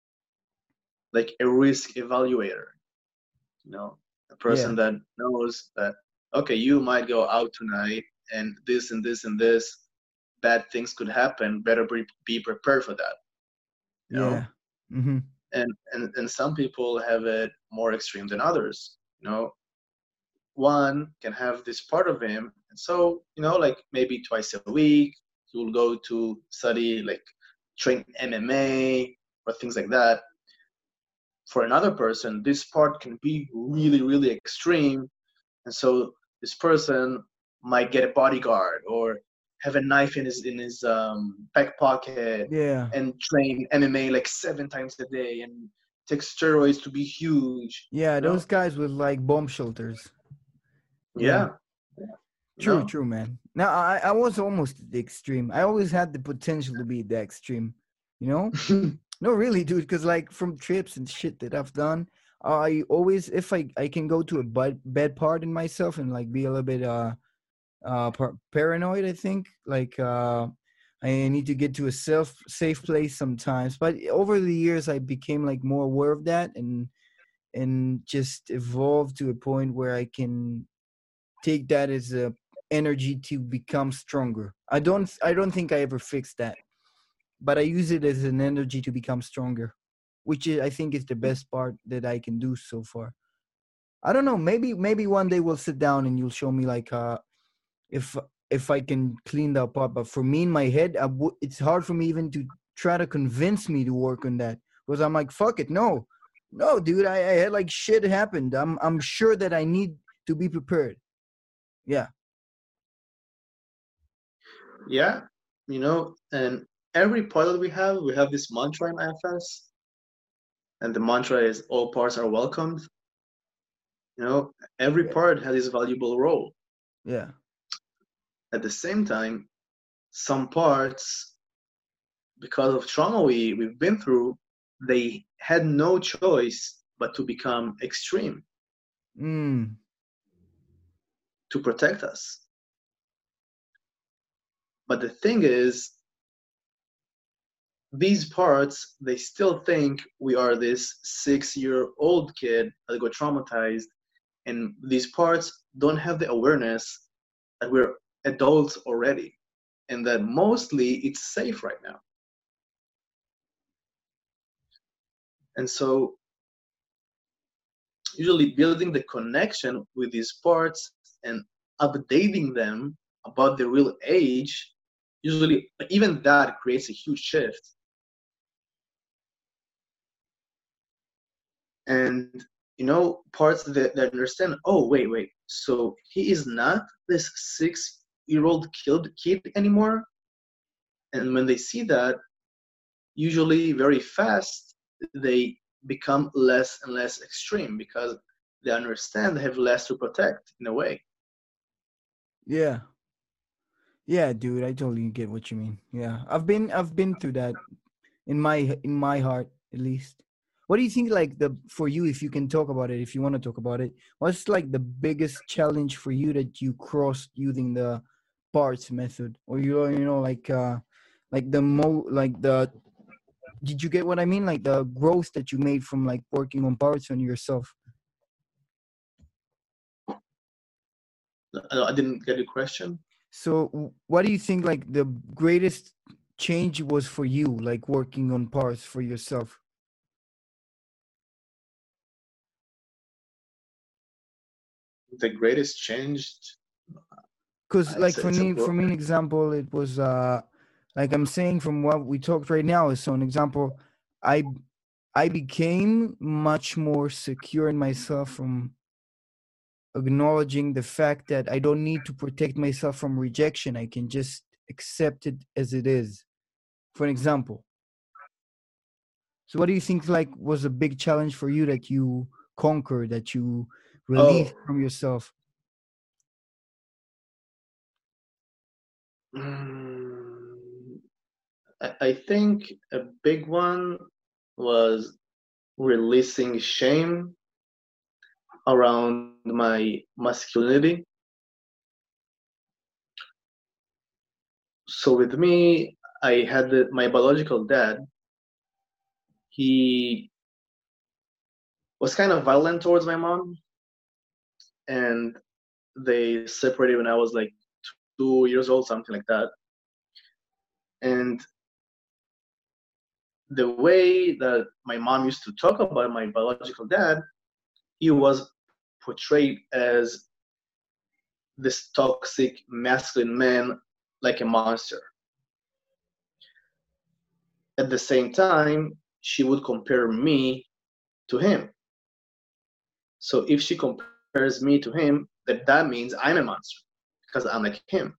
like a risk evaluator. You know, a person Yeah, that knows that okay, you might go out tonight, and this and this and this bad things could happen. Better be, be prepared for that. You yeah. know, Mm-hmm. and and and some people have it more extreme than others. You know, one can have this part of him, and so you know, like maybe twice a week, you'll go to study, like train M M A or things like that. For another person, this part can be really, really extreme, and so this person might get a bodyguard or have a knife in his in his um, back pocket Yeah, and train M M A like seven times a day and take steroids to be huge. yeah. You know? Those guys with like bomb shelters. Yeah, Yeah. You true, know? true, man. Now I I was almost at the extreme. I always had the potential to be the extreme. You know? No, really, dude. Because like from trips and shit that I've done, I always if I I can go to a bad bad part in myself and like be a little bit uh uh par- paranoid. I think like uh I need to get to a self safe place sometimes. But over the years, I became like more aware of that and and just evolved to a point where I can take that as a energy to become stronger. I don't I don't think I ever fixed that, but I use it as an energy to become stronger, which is, I think is the best part that I can do so far. I don't know. Maybe maybe one day we'll sit down and you'll show me like uh if if I can clean that up. But for me in my head, I w- it's hard for me even to try to convince me to work on that because I'm like fuck it, no, no, dude. I, I had like shit happened. I'm I'm sure that I need to be prepared. Yeah, Yeah. You know, and every part that we have, we have this mantra in I F S, and the mantra is all parts are welcomed. You know, every yeah, part has its valuable role. yeah. At the same time, some parts, because of trauma we, we've been through, they had no choice but to become extreme Mm, to protect us. But the thing is, these parts, they still think we are this six year old kid that got traumatized. And these parts don't have the awareness that we're adults already and that mostly it's safe right now. And so, usually, building the connection with these parts and updating them about the real age, usually, even that creates a huge shift. And you know, parts that, that understand, oh wait wait so he is not this six year old killed kid anymore. And when they see that, usually very fast they become less and less extreme because they understand they have less to protect in a way. yeah. Yeah, dude, I totally get what you mean. Yeah. I've been I've been through that in my in my heart at least. What do you think like the for you if you can talk about it if you want to talk about it? What's like the biggest challenge for you that you crossed using the parts method or you you know like uh like the mo like the did you get what I mean like the growth that you made from like working on parts on yourself? i, I didn't get your question. So w- what do you think like the greatest change was for you like working on parts for yourself? The greatest change, Because like it's a, for it's a me bro- for me an example it was uh like I'm saying from what we talked right now is so an example i I became much more secure in myself from acknowledging the fact that I don't need to protect myself from rejection. I can just accept it as it is. For an example. So what do you think like was a big challenge for you that you conquered, that you Oh, released from yourself? mm, I, I think a big one was releasing shame around my masculinity. So with me, I had the, my biological dad. He was kind of violent towards my mom, and they separated when I was like two years old, something like that. And the way that my mom used to talk about my biological dad, he was portrayed as this toxic masculine man, like a monster. At the same time, she would compare me to him. So if she compares me to him, that that means I'm a monster because I'm like him.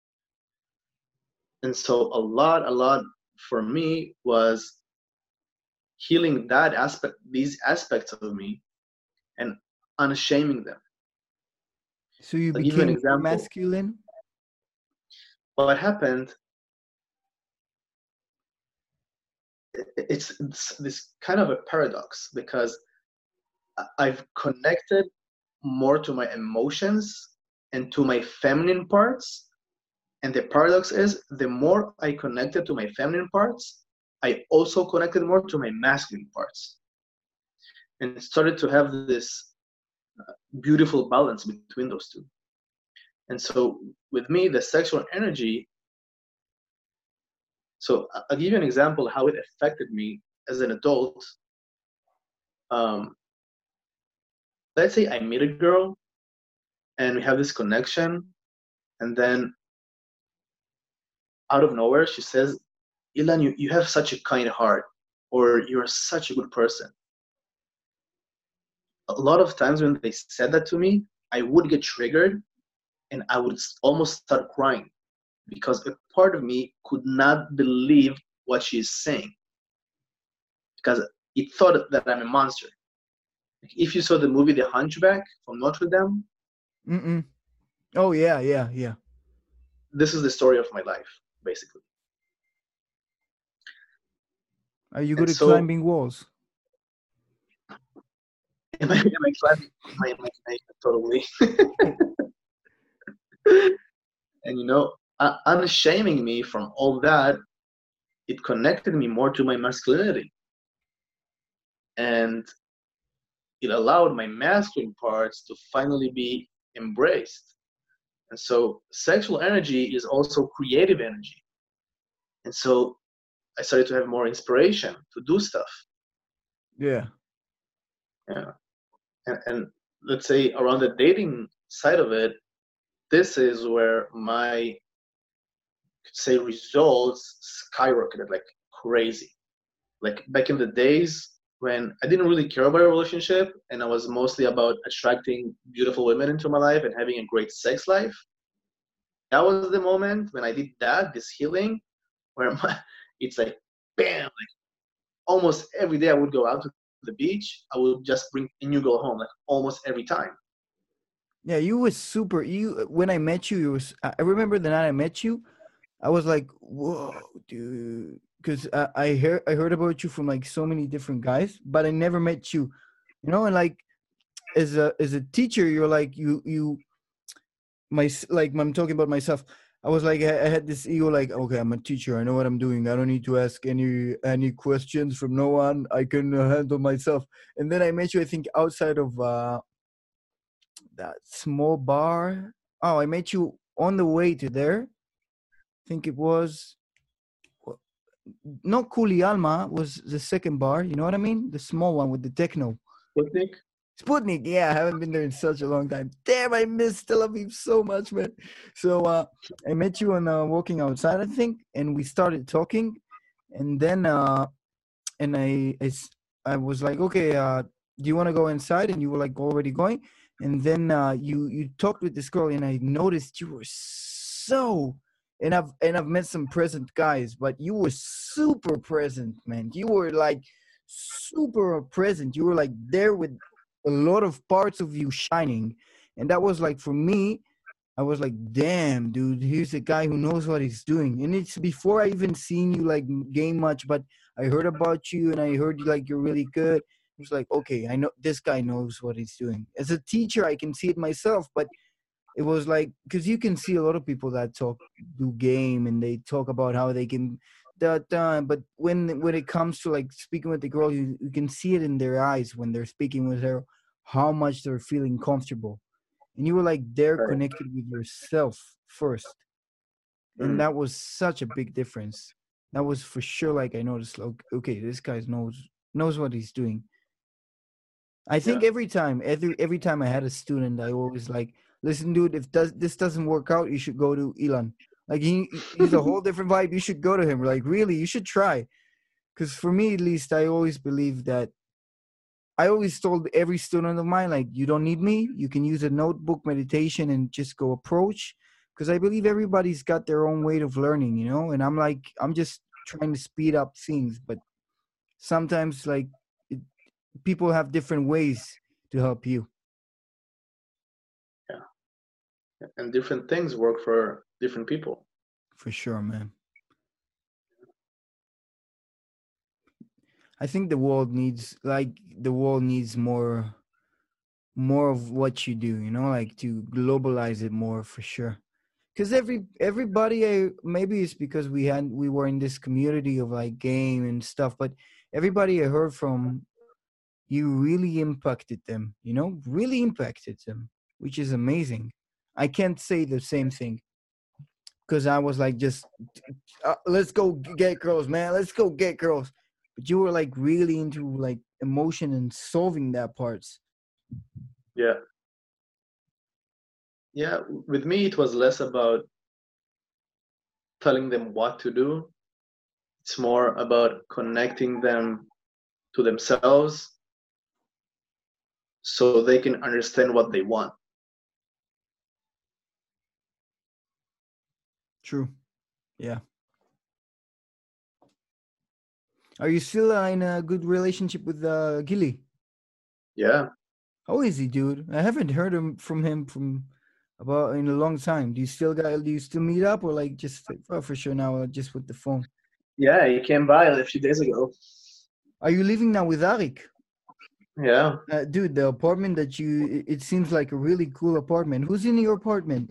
And so a lot, a lot for me was healing that aspect, these aspects of me, and unshaming them. So you I'll give you an became more example. masculine? What happened, it's, it's this kind of a paradox because I've connected more to my emotions and to my feminine parts. And the paradox is the more I connected to my feminine parts, I also connected more to my masculine parts and started to have this beautiful balance between those two. And so with me, the sexual energy, so I'll give you an example how it affected me as an adult. Um, let's say I meet a girl and we have this connection, and then out of nowhere, she says, Ilan, you, you have such a kind heart, or you're such a good person. A lot of times when they said that to me, I would get triggered and I would almost start crying because a part of me could not believe what she's saying because it thought that I'm a monster. If you saw the movie The Hunchback from Notre Dame, Mm-mm. Oh, yeah, yeah, yeah. this is the story of my life, basically. Are you And good at so, climbing walls? am I, am I climbing my imagination totally? And you know, uh, unshaming me from all that, it connected me more to my masculinity. And it allowed my masculine parts to finally be embraced. And so sexual energy is also creative energy. And so I started to have more inspiration to do stuff. Yeah. Yeah. And, and let's say around the dating side of it, this is where my, say, results skyrocketed like crazy. Like back in the days when I didn't really care about a relationship and I was mostly about attracting beautiful women into my life and having a great sex life. That was the moment when I did that, this healing, where my, it's like, bam, like almost every day I would go out to the beach. I would just bring a new girl home, like almost every time. Yeah, you was super. You when I met you, you was. I remember the night I met you. I was like, whoa, dude, because I, I heard I heard about you from like so many different guys, but I never met you. You know, and like as a as a teacher, you're like you you my like I'm talking about myself. I was like I, I had this ego, like okay, I'm a teacher. I know what I'm doing. I don't need to ask any any questions from no one. I can uh, handle myself. And then I met you. I think outside of uh, that small bar. Oh, I met you on the way to there. I think it was not Kuli Alma was the second bar. You know what I mean? The small one with the techno. Sputnik? Sputnik. Yeah, I haven't been there in such a long time. Damn, I miss Tel Aviv so much, man. So uh, I met you on uh, walking outside, I think, and we started talking, and then uh, and I, I I was like, okay, uh, do you want to go inside? And you were like already going. And then uh, you you talked with this girl, and I noticed you were so. And I've and I've met some present guys, but you were super present, man. You were like super present. You were like there with a lot of parts of you shining, and that was like for me. I was like, damn, dude, here's a guy who knows what he's doing. And it's before I even seen you like game much, but I heard about you and I heard you like you're really good. It was like, okay, I know this guy knows what he's doing. As a teacher, I can see it myself, but it was like, because you can see a lot of people that talk, do game and they talk about how they can, da, da, but when when it comes to like speaking with the girl, you, you can see it in their eyes when they're speaking with her, how much they're feeling comfortable. And you were like there Right. connected with yourself first. And Mm. that was such a big difference. That was for sure like I noticed, like, okay, this guy knows knows what he's doing. I think Yeah. every time, every every time I had a student, I always like, listen, dude, if does this doesn't work out, you should go to Elon. Like he he's a whole different vibe. You should go to him. Like really, you should try. Because for me, at least, I always believe that I always told every student of mine, like, you don't need me. You can use a notebook, meditation, and just go approach. Because I believe everybody's got their own way of learning, you know? And I'm like, I'm just trying to speed up things. But sometimes, like, it, people have different ways to help you. Yeah. And different things work for different people. For sure, man. I think the world needs, like, the world needs more, more of what you do, you know, like to globalize it more for sure. Because every everybody, I, maybe it's because we had we were in this community of like game and stuff, but everybody I heard from, you really impacted them, you know, really impacted them, which is amazing. I can't say the same thing because I was like, just uh, let's go get girls, man, let's go get girls. But you were like really into like emotion and solving that parts. Yeah. Yeah. With me, it was less about telling them what to do. It's more about connecting them to themselves so they can understand what they want. True. Yeah. Are you still uh, in a good relationship with uh, Gilly? Yeah. How is he, dude? I haven't heard him from him from about in a long time. Do you still got? Do you still meet up, or like just oh, for sure now, uh, just with the phone? Yeah, he came by a few days ago. Are you living now with Arik? Yeah. Uh, dude, the apartment that you, it, it seems like a really cool apartment. Who's in your apartment?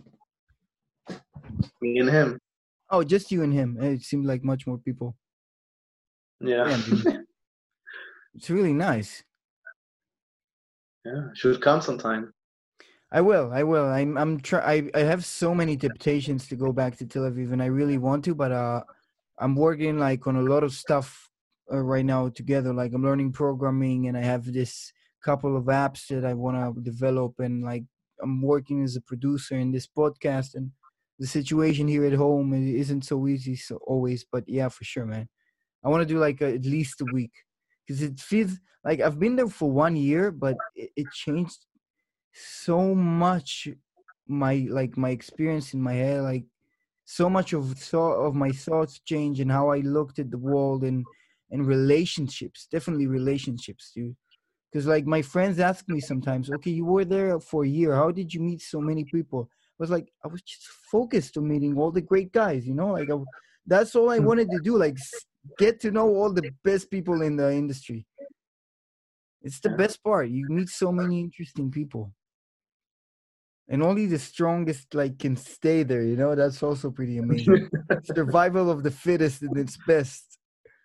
Me and him. Oh, just you and him. It seemed like much more people. Yeah. Damn, dude. It's really nice. Yeah. Should come sometime. I will. I will. I'm. I'm try. I. I have so many temptations to go back to Tel Aviv, and I really want to, but uh, I'm working like on a lot of stuff uh, right now together. Like I'm learning programming, and I have this couple of apps that I want to develop, and like I'm working as a producer in this podcast, and the situation here at home i- isn't so easy so always. But yeah, for sure, man. I want to do like a, at least a week because it feels like I've been there for one year, but it, it changed so much my like my experience in my head, like so much of thought of my thoughts change and how I looked at the world and and relationships, definitely relationships, dude. Because like my friends ask me sometimes, okay, you were there for a year, how did you meet so many people? I was like, I was just focused on meeting all the great guys, you know, like I, that's all I wanted to do, like s- get to know all the best people in the industry. It's the Yeah. best part, you meet so many interesting people, and only the strongest like can stay there, you know. That's also pretty amazing. Survival of the fittest in its best.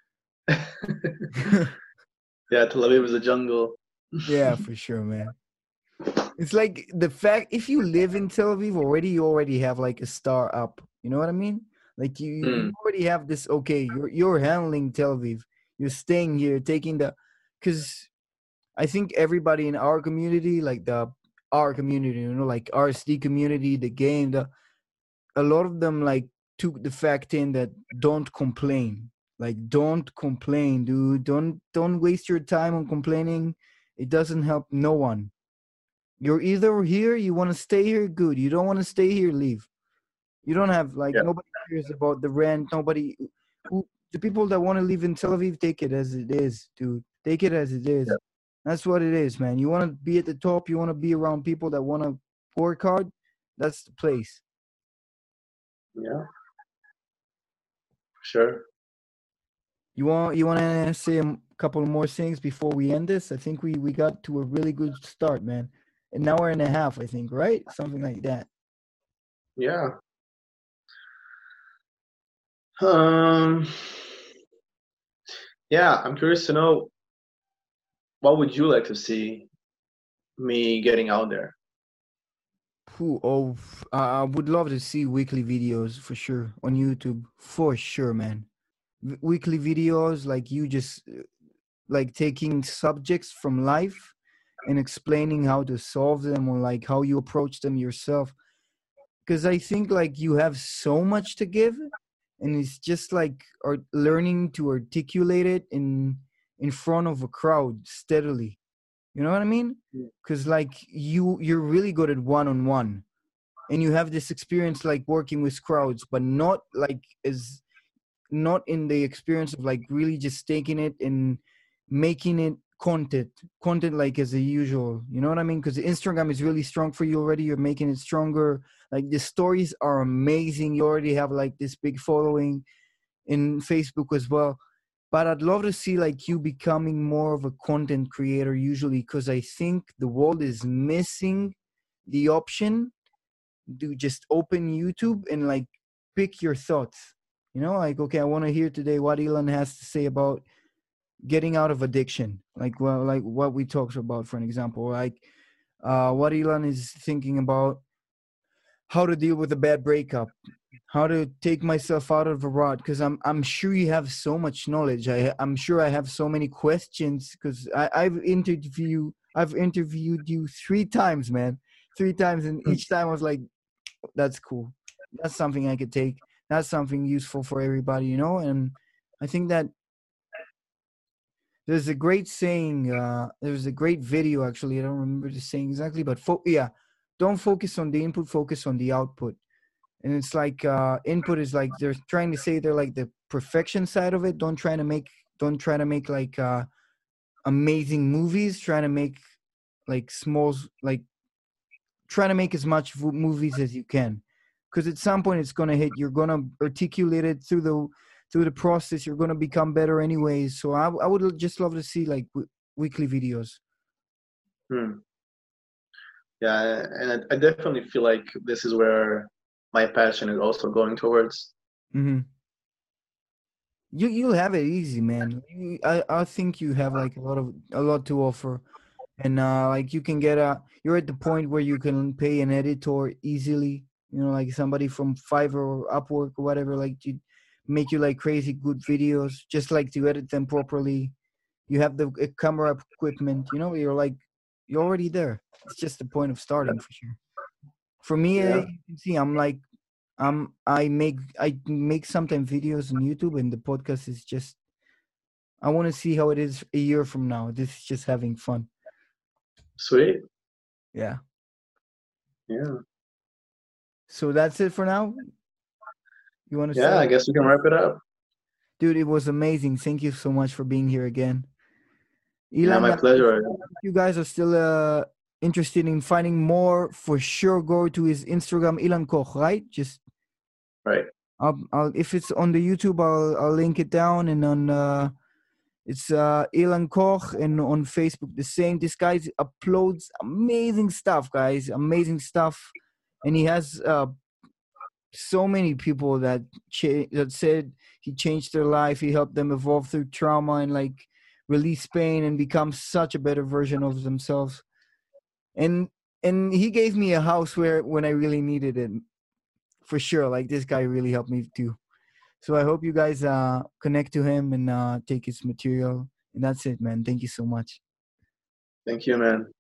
Yeah, Tel Aviv is a jungle. Yeah, for sure, man. It's like the fact if you live in Tel Aviv already, you already have like a star up, you know what I mean? Like you you Mm. already have this. Okay, you're you're handling Tel Aviv, you're staying here, taking the, because I think everybody in our community, like the our community, you know, like R S D community, the game, the a lot of them like took the fact in that don't complain. Like, don't complain, dude. Don't don't waste your time on complaining. It doesn't help no one. You're either here, you want to stay here, good. You don't want to stay here, leave. You don't have like Yeah. nobody cares about the rent. Nobody who the people that want to live in Tel Aviv, take it as it is, dude. Take it as it is. Yeah. That's what it is, man. You want to be at the top. You want to be around people that want to work hard. That's the place. Yeah. Sure. You want you want to say a couple more things before we end this? I think we we got to a really good start, man. An hour and a half, I think, right? Something like that. Yeah. Um. Yeah, I'm curious to know, what would you like to see me getting out there? Who? Oh, f- I I would love to see weekly videos for sure on YouTube, for sure, man. W- weekly videos like you just uh, like taking subjects from life and explaining how to solve them or like how you approach them yourself. Because I think like you have so much to give, and it's just like or learning to articulate it in in front of a crowd steadily. You know what I mean? Yeah. Because like you you're really good at one on one, and you have this experience like working with crowds, but not like as not in the experience of like really just taking it and making it content content like as a usual. You know what I mean? Because Instagram is really strong for you already. You're making it stronger. Like the stories are amazing. You already have like this big following in Facebook as well. But I'd love to see like you becoming more of a content creator usually, because I think the world is missing the option to just open YouTube and like pick your thoughts. You know, like, okay, I want to hear today what Elon has to say about getting out of addiction. Like, well, like what we talked about, for an example, like uh, what Elon is thinking about how to deal with a bad breakup, how to take myself out of a rut. Because I'm I'm sure you have so much knowledge. I I'm sure I have so many questions because I I've interviewed I've interviewed you three times, man, three times, and each time I was like, that's cool. That's something I could take. That's something useful for everybody, you know. And I think that there's a great saying. Uh, there's a great video actually. I don't remember the saying exactly, but fo- yeah, don't focus on the input, focus on the output. And it's like uh, input is like they're trying to say they're like the perfection side of it. Don't try to make don't try to make like uh, amazing movies. Try to make like small like trying to make as much v- movies as you can, because at some point it's going to hit. You're going to articulate it through the through the process. You're going to become better anyways. So I, I would just love to see like w- weekly videos. Hmm. Yeah, and I, I definitely feel like this is where my passion is also going towards. Mm-hmm. You you'll have it easy, man. You, I I think you have like a lot of a lot to offer, and uh, like you can get a. You're at the point where you can pay an editor easily. You know, like somebody from Fiverr or Upwork or whatever, like to make you like crazy good videos, just like to edit them properly. You have the uh, camera equipment. You know, you're like you're already there. It's just the point of starting for sure. For me, uh, Yeah. you can see I'm like um I make I make sometimes videos on YouTube, and the podcast is just I want to see how it is a year from now. This is just having fun. Sweet. Yeah. Yeah. So that's it for now. You want to Yeah, say, I guess we can wrap it up. dude? It was amazing. Thank you so much for being here again, Yeah, Ilan. my uh, If pleasure. if you guys are still uh, interested in finding more, for sure go to his Instagram, Ilan Koch. Right? Just Right. I'll, I'll if it's on the YouTube, I'll I'll link it down, and on uh, it's uh, Ilan Koch, and on Facebook the same. This guy uploads amazing stuff, guys. Amazing stuff, and he has uh, so many people that cha- that said he changed their life. He helped them evolve through trauma and like release pain and become such a better version of themselves. And and he gave me a house where when I really needed it, for sure. Like this guy really helped me too. So I hope you guys uh connect to him and uh take his material. And that's it, man. Thank you so much. Thank you, man.